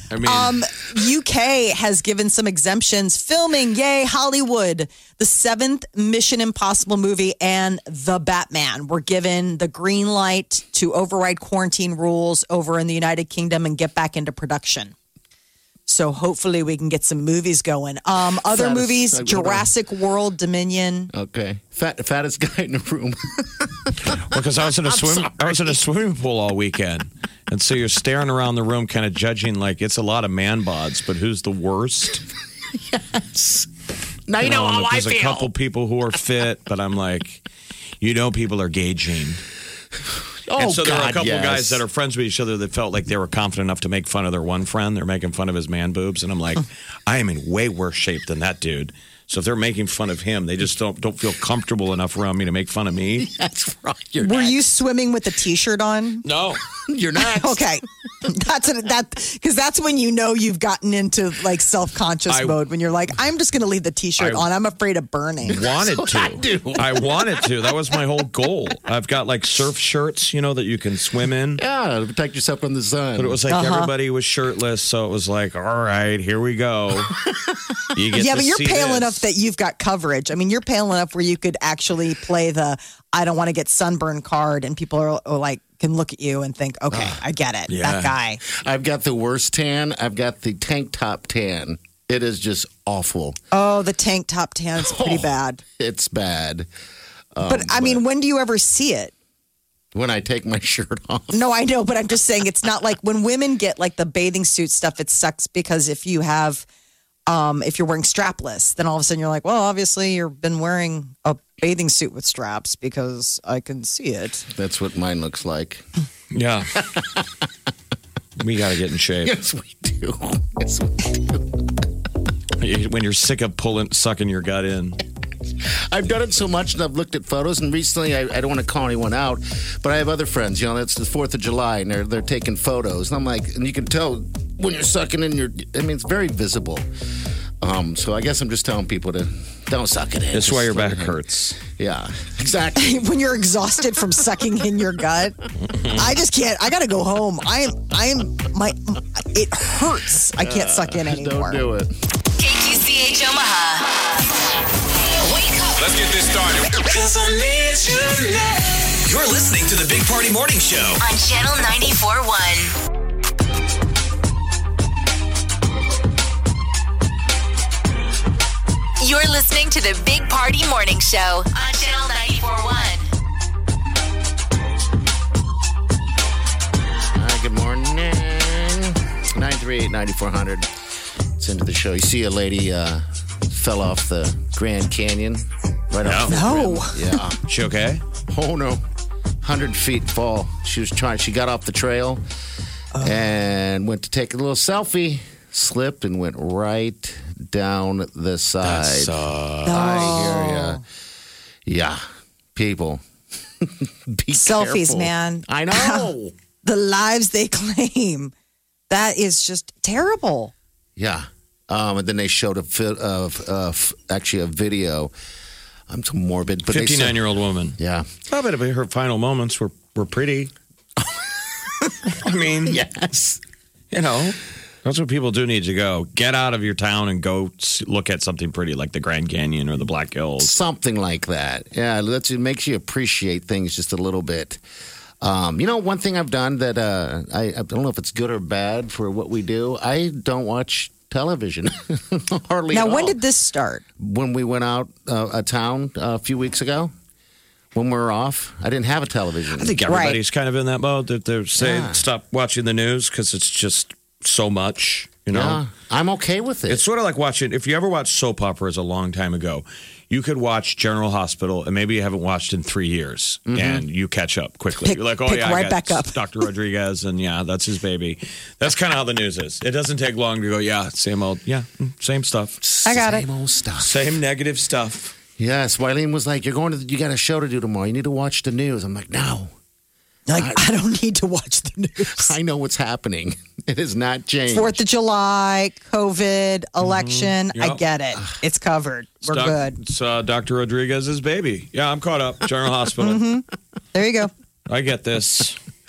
I mean, Um, U K has given some exemptions. Filming, yay, Hollywood. The seventh Mission Impossible movie and The Batman were given the green light to override quarantine rules over in the United Kingdom and get back into production. So hopefully we can get some movies going. Um, other Fattest- movies, like, Jurassic World Dominion. Okay. Fat, fattest guy in the room. because I was in a I'm swim, sorry. I was in a swimming pool all weekend, and so you're staring around the room, kind of judging like it's a lot of man bods, but who's the worst? Yes. Now you know and how I there's feel. a couple people who are fit, but I'm like, you know, people are gauging. Oh, and so there God, are a couple yes. guys that are friends with each other that felt like they were confident enough to make fun of their one friend. They're making fun of his man boobs, and I'm like, I am in way worse shape than that dude. So if they're making fun of him, they just don't don't feel comfortable enough around me to make fun of me. That's right. You're Were next. you swimming with a T-shirt on? No. You're next. Okay, that's a, that because that's when you know you've gotten into like self-conscious I- mode when you're like, I'm just going to leave the T-shirt I- on. I'm afraid of burning. Wanted That's to. what I do. I wanted to. That was my whole goal. I've got like surf shirts, you know, that you can swim in. Yeah, to protect yourself from the sun. But it was like Uh-huh. everybody was shirtless, so it was like, all right, here we go. You get Yeah, to but you're see pale this. enough that you've got coverage. I mean, you're pale enough where you could actually play the I don't want to get sunburned card, and people are, are like can look at you and think, okay, I get it. yeah. That guy. I've got the worst tan. I've got the tank top tan. It is just awful. Oh, the tank top tan is pretty Oh. bad. It's bad. But I mean, when do you ever see it? When I take my shirt off. No, I know, but I'm just saying it's not like when women get like the bathing suit stuff, it sucks because if you have, um, if you're wearing strapless, then all of a sudden you're like, well, obviously you've been wearing a bathing suit with straps because I can see it. That's what mine looks like. Yeah. We got to get in shape. Yes, we do. Yes, we do. When you're sick of pulling, sucking your gut in. I've done it so much and I've looked at photos, and recently I, I don't want to call anyone out, but I have other friends, you know, it's the fourth of July and they're, they're taking photos. And I'm like, and you can tell when you're sucking in your, I mean, it's very visible. Um, so I guess I'm just telling people to don't suck it in. That's Just why your let back it in. hurts. Yeah, exactly. When you're exhausted from sucking in your gut, I just can't. I got to go home. I am. I am. My. It hurts. I can't suck in anymore. Don't do it. K Q C H Omaha. Wake up. Let's get this started. You're listening to the Big Party Morning Show. On Channel ninety-four point one. You're listening to the Big Party Morning Show on Channel ninety-four point one. All right, good morning. nine three eight, nine four zero zero. It's into the show. You see a lady uh, fell off the Grand Canyon right off the No. rim. Yeah. She okay? Oh, no. one hundred feet fall. She was trying, she got off the trail and went to take a little selfie, slipped and went right down the side. That's, uh, I hear ya. Yeah. People. Be Selfies, careful. man. I know. The lives they claim. That is just terrible. Yeah. Um, and then they showed a fi- of uh, f- actually a video. I'm so morbid, but they said- fifty-nine-year-old woman. Yeah. I bet her final moments were, were pretty. I mean, Yes. you know, that's what people do need to go. Get out of your town and go s- look at something pretty like the Grand Canyon or the Black Hills. Something like that. Yeah. That's, it makes you appreciate things just a little bit. Um, you know, one thing I've done that uh, I, I don't know if it's good or bad for what we do. I don't watch television hardly. Now, at when all. did this start? When we went out uh, a town uh, a few weeks ago, when we were off, I didn't have a television. I think everybody's kind of in that mode that they're saying Yeah. stop watching the news because it's just so much, you know? Yeah, I'm okay with it. It's sort of like watching, if you ever watched soap operas a long time ago, you could watch General Hospital and maybe you haven't watched in three years and you catch up quickly. Pick- You're like, oh, pick yeah, I right got back up. Doctor Rodriguez and yeah, that's his baby. That's kind of how the news is. It doesn't take long to go, yeah, same old, yeah, mm, same stuff. I got it. Same old stuff. Same negative stuff. Yes, Wileen was like, "You're going to, you got a show to do tomorrow. You need to watch the news." I'm like, "No, Like, I don't need to watch the news. I know what's happening. It has not changed." Fourth of July, COVID, election. I Yep. get it. It's covered. We're Doc- good. It's uh, Doctor Rodriguez's baby. Yeah, I'm caught up. General Hospital. There you go. I get this.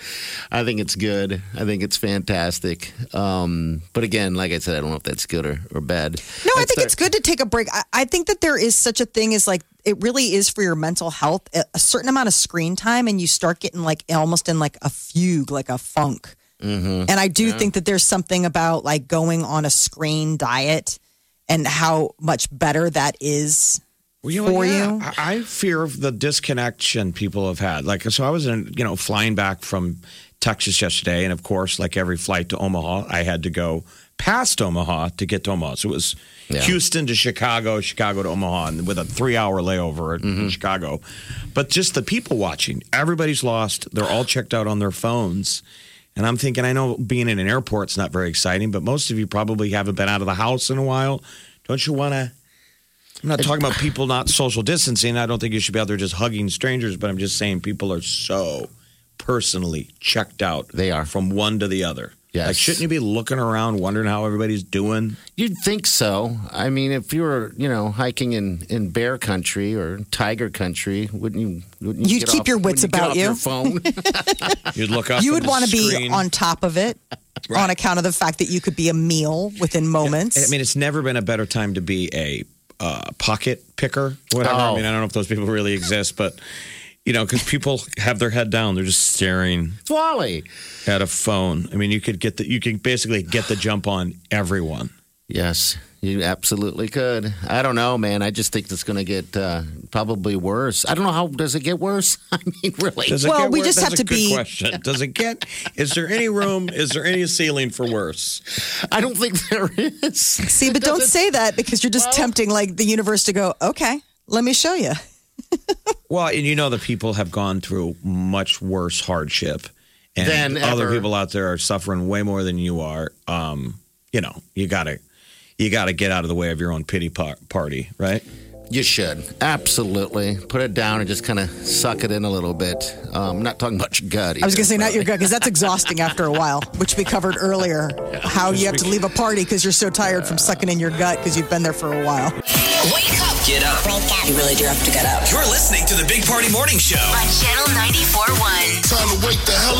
I think it's good. I think it's fantastic. Um, but again, like I said, I don't know if that's good or, or bad. No, I That's think the- it's good to take a break. I, I think that there is such a thing as like, it really is for your mental health, a, a certain amount of screen time, and you start getting like almost in like a fugue, like a funk. Mm-hmm. And I do think that there's something about like going on a screen diet and how much better that is Well, you know, for yeah, you. I, I fear of the disconnection people have had. Like, so I was in, you know, flying back from Texas yesterday, and of course, like every flight to Omaha, I had to go past Omaha to get to Omaha. So it was Yeah. Houston to Chicago, Chicago to Omaha, and with a three-hour layover in Chicago. But just the people watching, everybody's lost. They're all checked out on their phones. And I'm thinking, I know being in an airport's not very exciting, but most of you probably haven't been out of the house in a while. Don't you want to? I'm not talking about people not social distancing. I don't think you should be out there just hugging strangers, but I'm just saying people are so personally checked out. They are. From one to the other. Yes. Like, shouldn't you be looking around, wondering how everybody's doing? You'd think so. I mean, if you were, you know, hiking in, in bear country or tiger country, wouldn't you? Wouldn't you You'd get keep off- your wits wouldn't about get you. off Your phone. You'd look up. You from would the want to be screen. on top of it on account of the fact that you could be a meal within moments. I mean, it's never been a better time to be a uh, pocket picker, whatever. I Oh. mean, I don't know if those people really exist, but, you know, because people have their head down. They're just staring Wally. at a phone. I mean, you could get the, you can basically get the jump on everyone. Yes, you absolutely could. I don't know, man. I just think it's going to get uh, probably worse. I don't know how does it get worse. I mean, really. Does it Well, get we worse? just That's have a to good be- question. Does it get? Is there any room? Is there any ceiling for worse? I don't think there is. See, but don't say that because you're just Well- tempting like the universe to go, okay, let me show you. Well, and you know the people have gone through much worse hardship, and Than other ever. people out there are suffering way more than you are. Um, you know, you gotta, you gotta get out of the way of your own pity par- party, right? You should. Absolutely. Put it down and just kind of suck it in a little bit. Um, I'm not talking about your gut. I was going to say, not your gut. gut, because that's exhausting after a while, which we covered earlier. How you have to leave a party because you're so tired from sucking in your gut because you've been there for a while. Wake up Get up. You really do have to get up. You're listening to the Big Party Morning Show. On Channel ninety-four point one. Time to wake the hell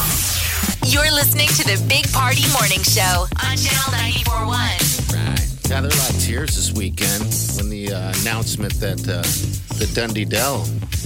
up. You're listening to the Big Party Morning Show on Channel ninety-four point one. Right. Yeah, there were a lot of tears this weekend when the uh, announcement that uh, the Dundee Dell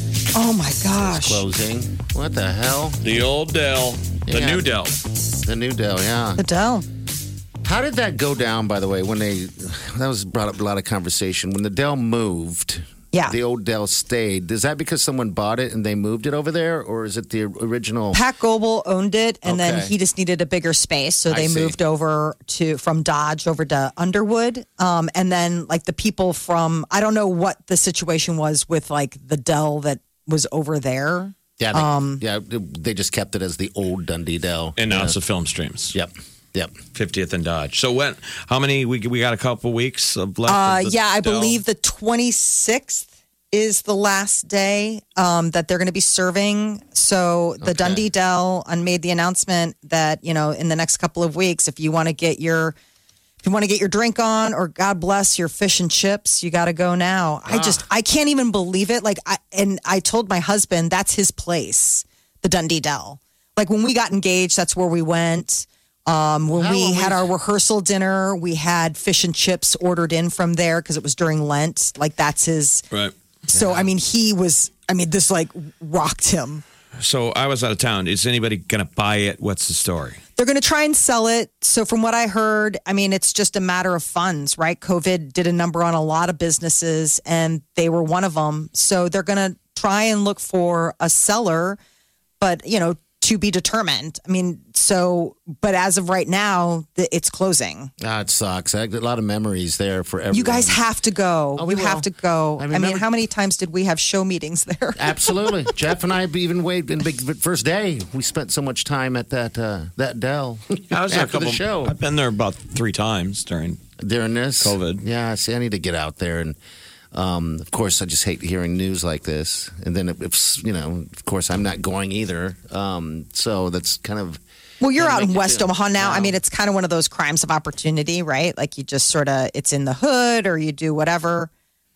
Oh my is gosh. closing. What the hell? The old Dell, the Yeah. new Dell. The new Dell, yeah. Adele. How did that go down, by the way, when they, that was brought up a lot of conversation. When the Dell moved, Yeah. the old Dell stayed. Is that because someone bought it and they moved it over there? Or is it the original? Pat Goebel owned it, and then Okay. he just needed a bigger space, so I they see. moved over to from Dodge over to Underwood. Um, and then like the people from I don't know what the situation was with like the Dell that was over there. Yeah, they, Um, yeah, they just kept it as the old Dundee Dell. And now yeah. it's the film streams. Yep, yep. fiftieth and Dodge. So when? How many? We we got a couple weeks of left. Uh, of the yeah, I Dell? believe the twenty-sixth is the last day um, that they're going to be serving. So the Okay. Dundee Dell uh, made the announcement that, you know, in the next couple of weeks, if you want to get your if you want to get your drink on, or God bless your fish and chips, you got to go now. I just I can't even believe it. Like I and I told my husband that's his place, the Dundee Dell. Like when we got engaged, that's where we went. Um, when How we long had we- our rehearsal dinner, we had fish and chips ordered in from there because it was during Lent. Like that's his. Right. So I mean, he was. I mean, this like rocked him. So I was out of town. Is anybody going to buy it? What's the story? They're going to try and sell it. So from what I heard, I mean, it's just a matter of funds, right? COVID did a number on a lot of businesses, and they were one of them. So they're going to try and look for a seller, but you know, to be determined. I mean, so, but as of right now, the, it's closing. Ah, it sucks. I, a lot of memories there for everyone. You guys have to go. Oh, we you have will. to go. I I mean, remember- how many times did we have show meetings there? Absolutely. Jeff and I even waited in the big first day. We spent so much time at that uh, that Dell I was there a after the couple- show. I've been there about three times during. During this COVID. Yeah, see, I need to get out there, and um, of course, I just hate hearing news like this. And then, if, if you know, of course, I'm not going either. Um, so that's kind of Well, you're Kinda out in make you West feel- Omaha now. I Wow. mean, it's kind of one of those crimes of opportunity, right? Like you just sort of, it's in the hood or you do whatever.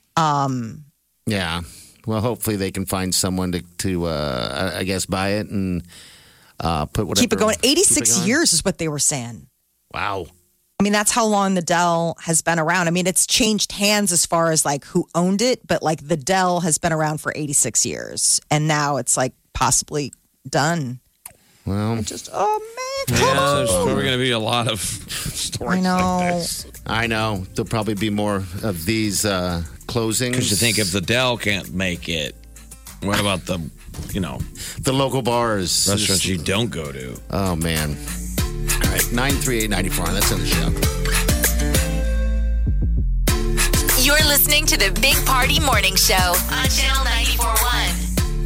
Um, yeah. Well, hopefully they can find someone to to uh, I I guess buy it, and Uh, put whatever. Keep it going. eighty-six Keep it going. years is what they were saying. Wow. I mean, that's how long the Dell has been around. I mean, it's changed hands as far as like who owned it, but like the Dell has been around for eighty-six years. And now it's like possibly done. Well, just, oh man. Yeah, there's probably going to be a lot of stories I know. like this. I know. There'll probably be more of these uh, closings. Because you think if the Dell can't make it, what about the, you know, the local bars, restaurants you don't go to? Oh, man. All right, nine three eight, nine four. That's in the show. You're listening to the Big Party Morning Show on Channel ninety-four point one.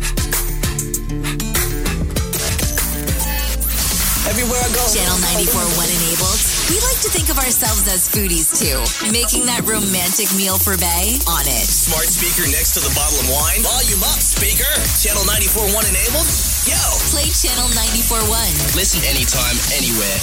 Everywhere I go. Channel ninety-four point one enabled. We like to think of ourselves as foodies too. Making that romantic meal for Bay on it. Smart speaker next to the bottle of wine. Volume up, speaker. Channel ninety-four point one enabled. Yo. Play Channel ninety-four point one. Listen anytime, anywhere.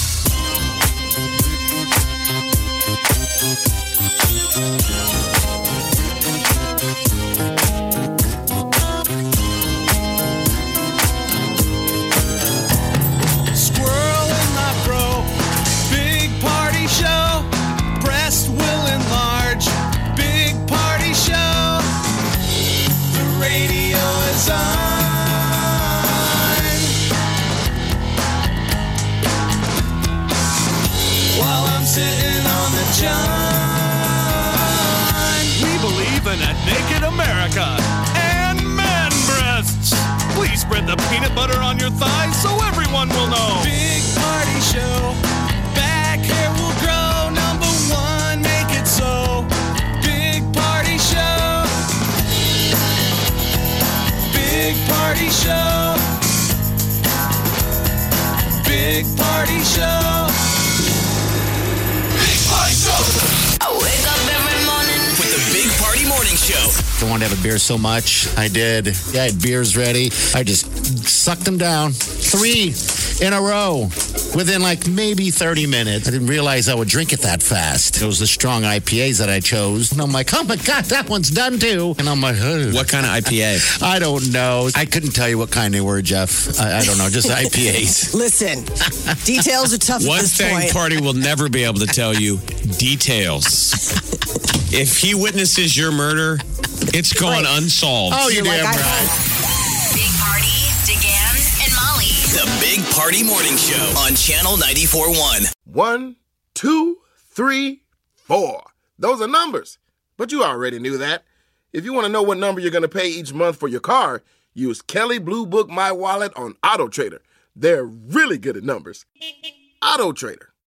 Squirrel in my fro. Big party show. Breast will enlarge. Big party show. The radio is on. While I'm sitting on the john. We believe in a naked America and man breasts. Please spread the peanut butter on your thighs so everyone will know. Big party show. Back hair will grow. Number one, make it so. Big party show. Big party show. Big party show. Big party show. I wake up every morning. With the Big Party Morning Show. I wanted to have a beer so much. I did. Yeah, I had beers ready. I just sucked them down. Three in a row within like maybe thirty minutes. I didn't realize I would drink it that fast. It was the strong I P As that I chose. And I'm like, oh my God, that one's done too. And I'm like, ugh. What kind of I P A? I don't know. I couldn't tell you what kind they were, Jeff. I, I don't know. Just I P As. Listen, details are tough One at this thing point. Party will never be able to tell you, details. If he witnesses your murder, it's going Right. unsolved. Oh, you You're like, damn I- right. Big Party, DeGan, and Molly. The Big Party Morning Show on Channel ninety-four point one. One, two, three, four. Those are numbers. But you already knew that. If you want to know what number you're going to pay each month for your car, use Kelly Blue Book My Wallet on Auto Trader. They're really good at numbers. Auto Trader.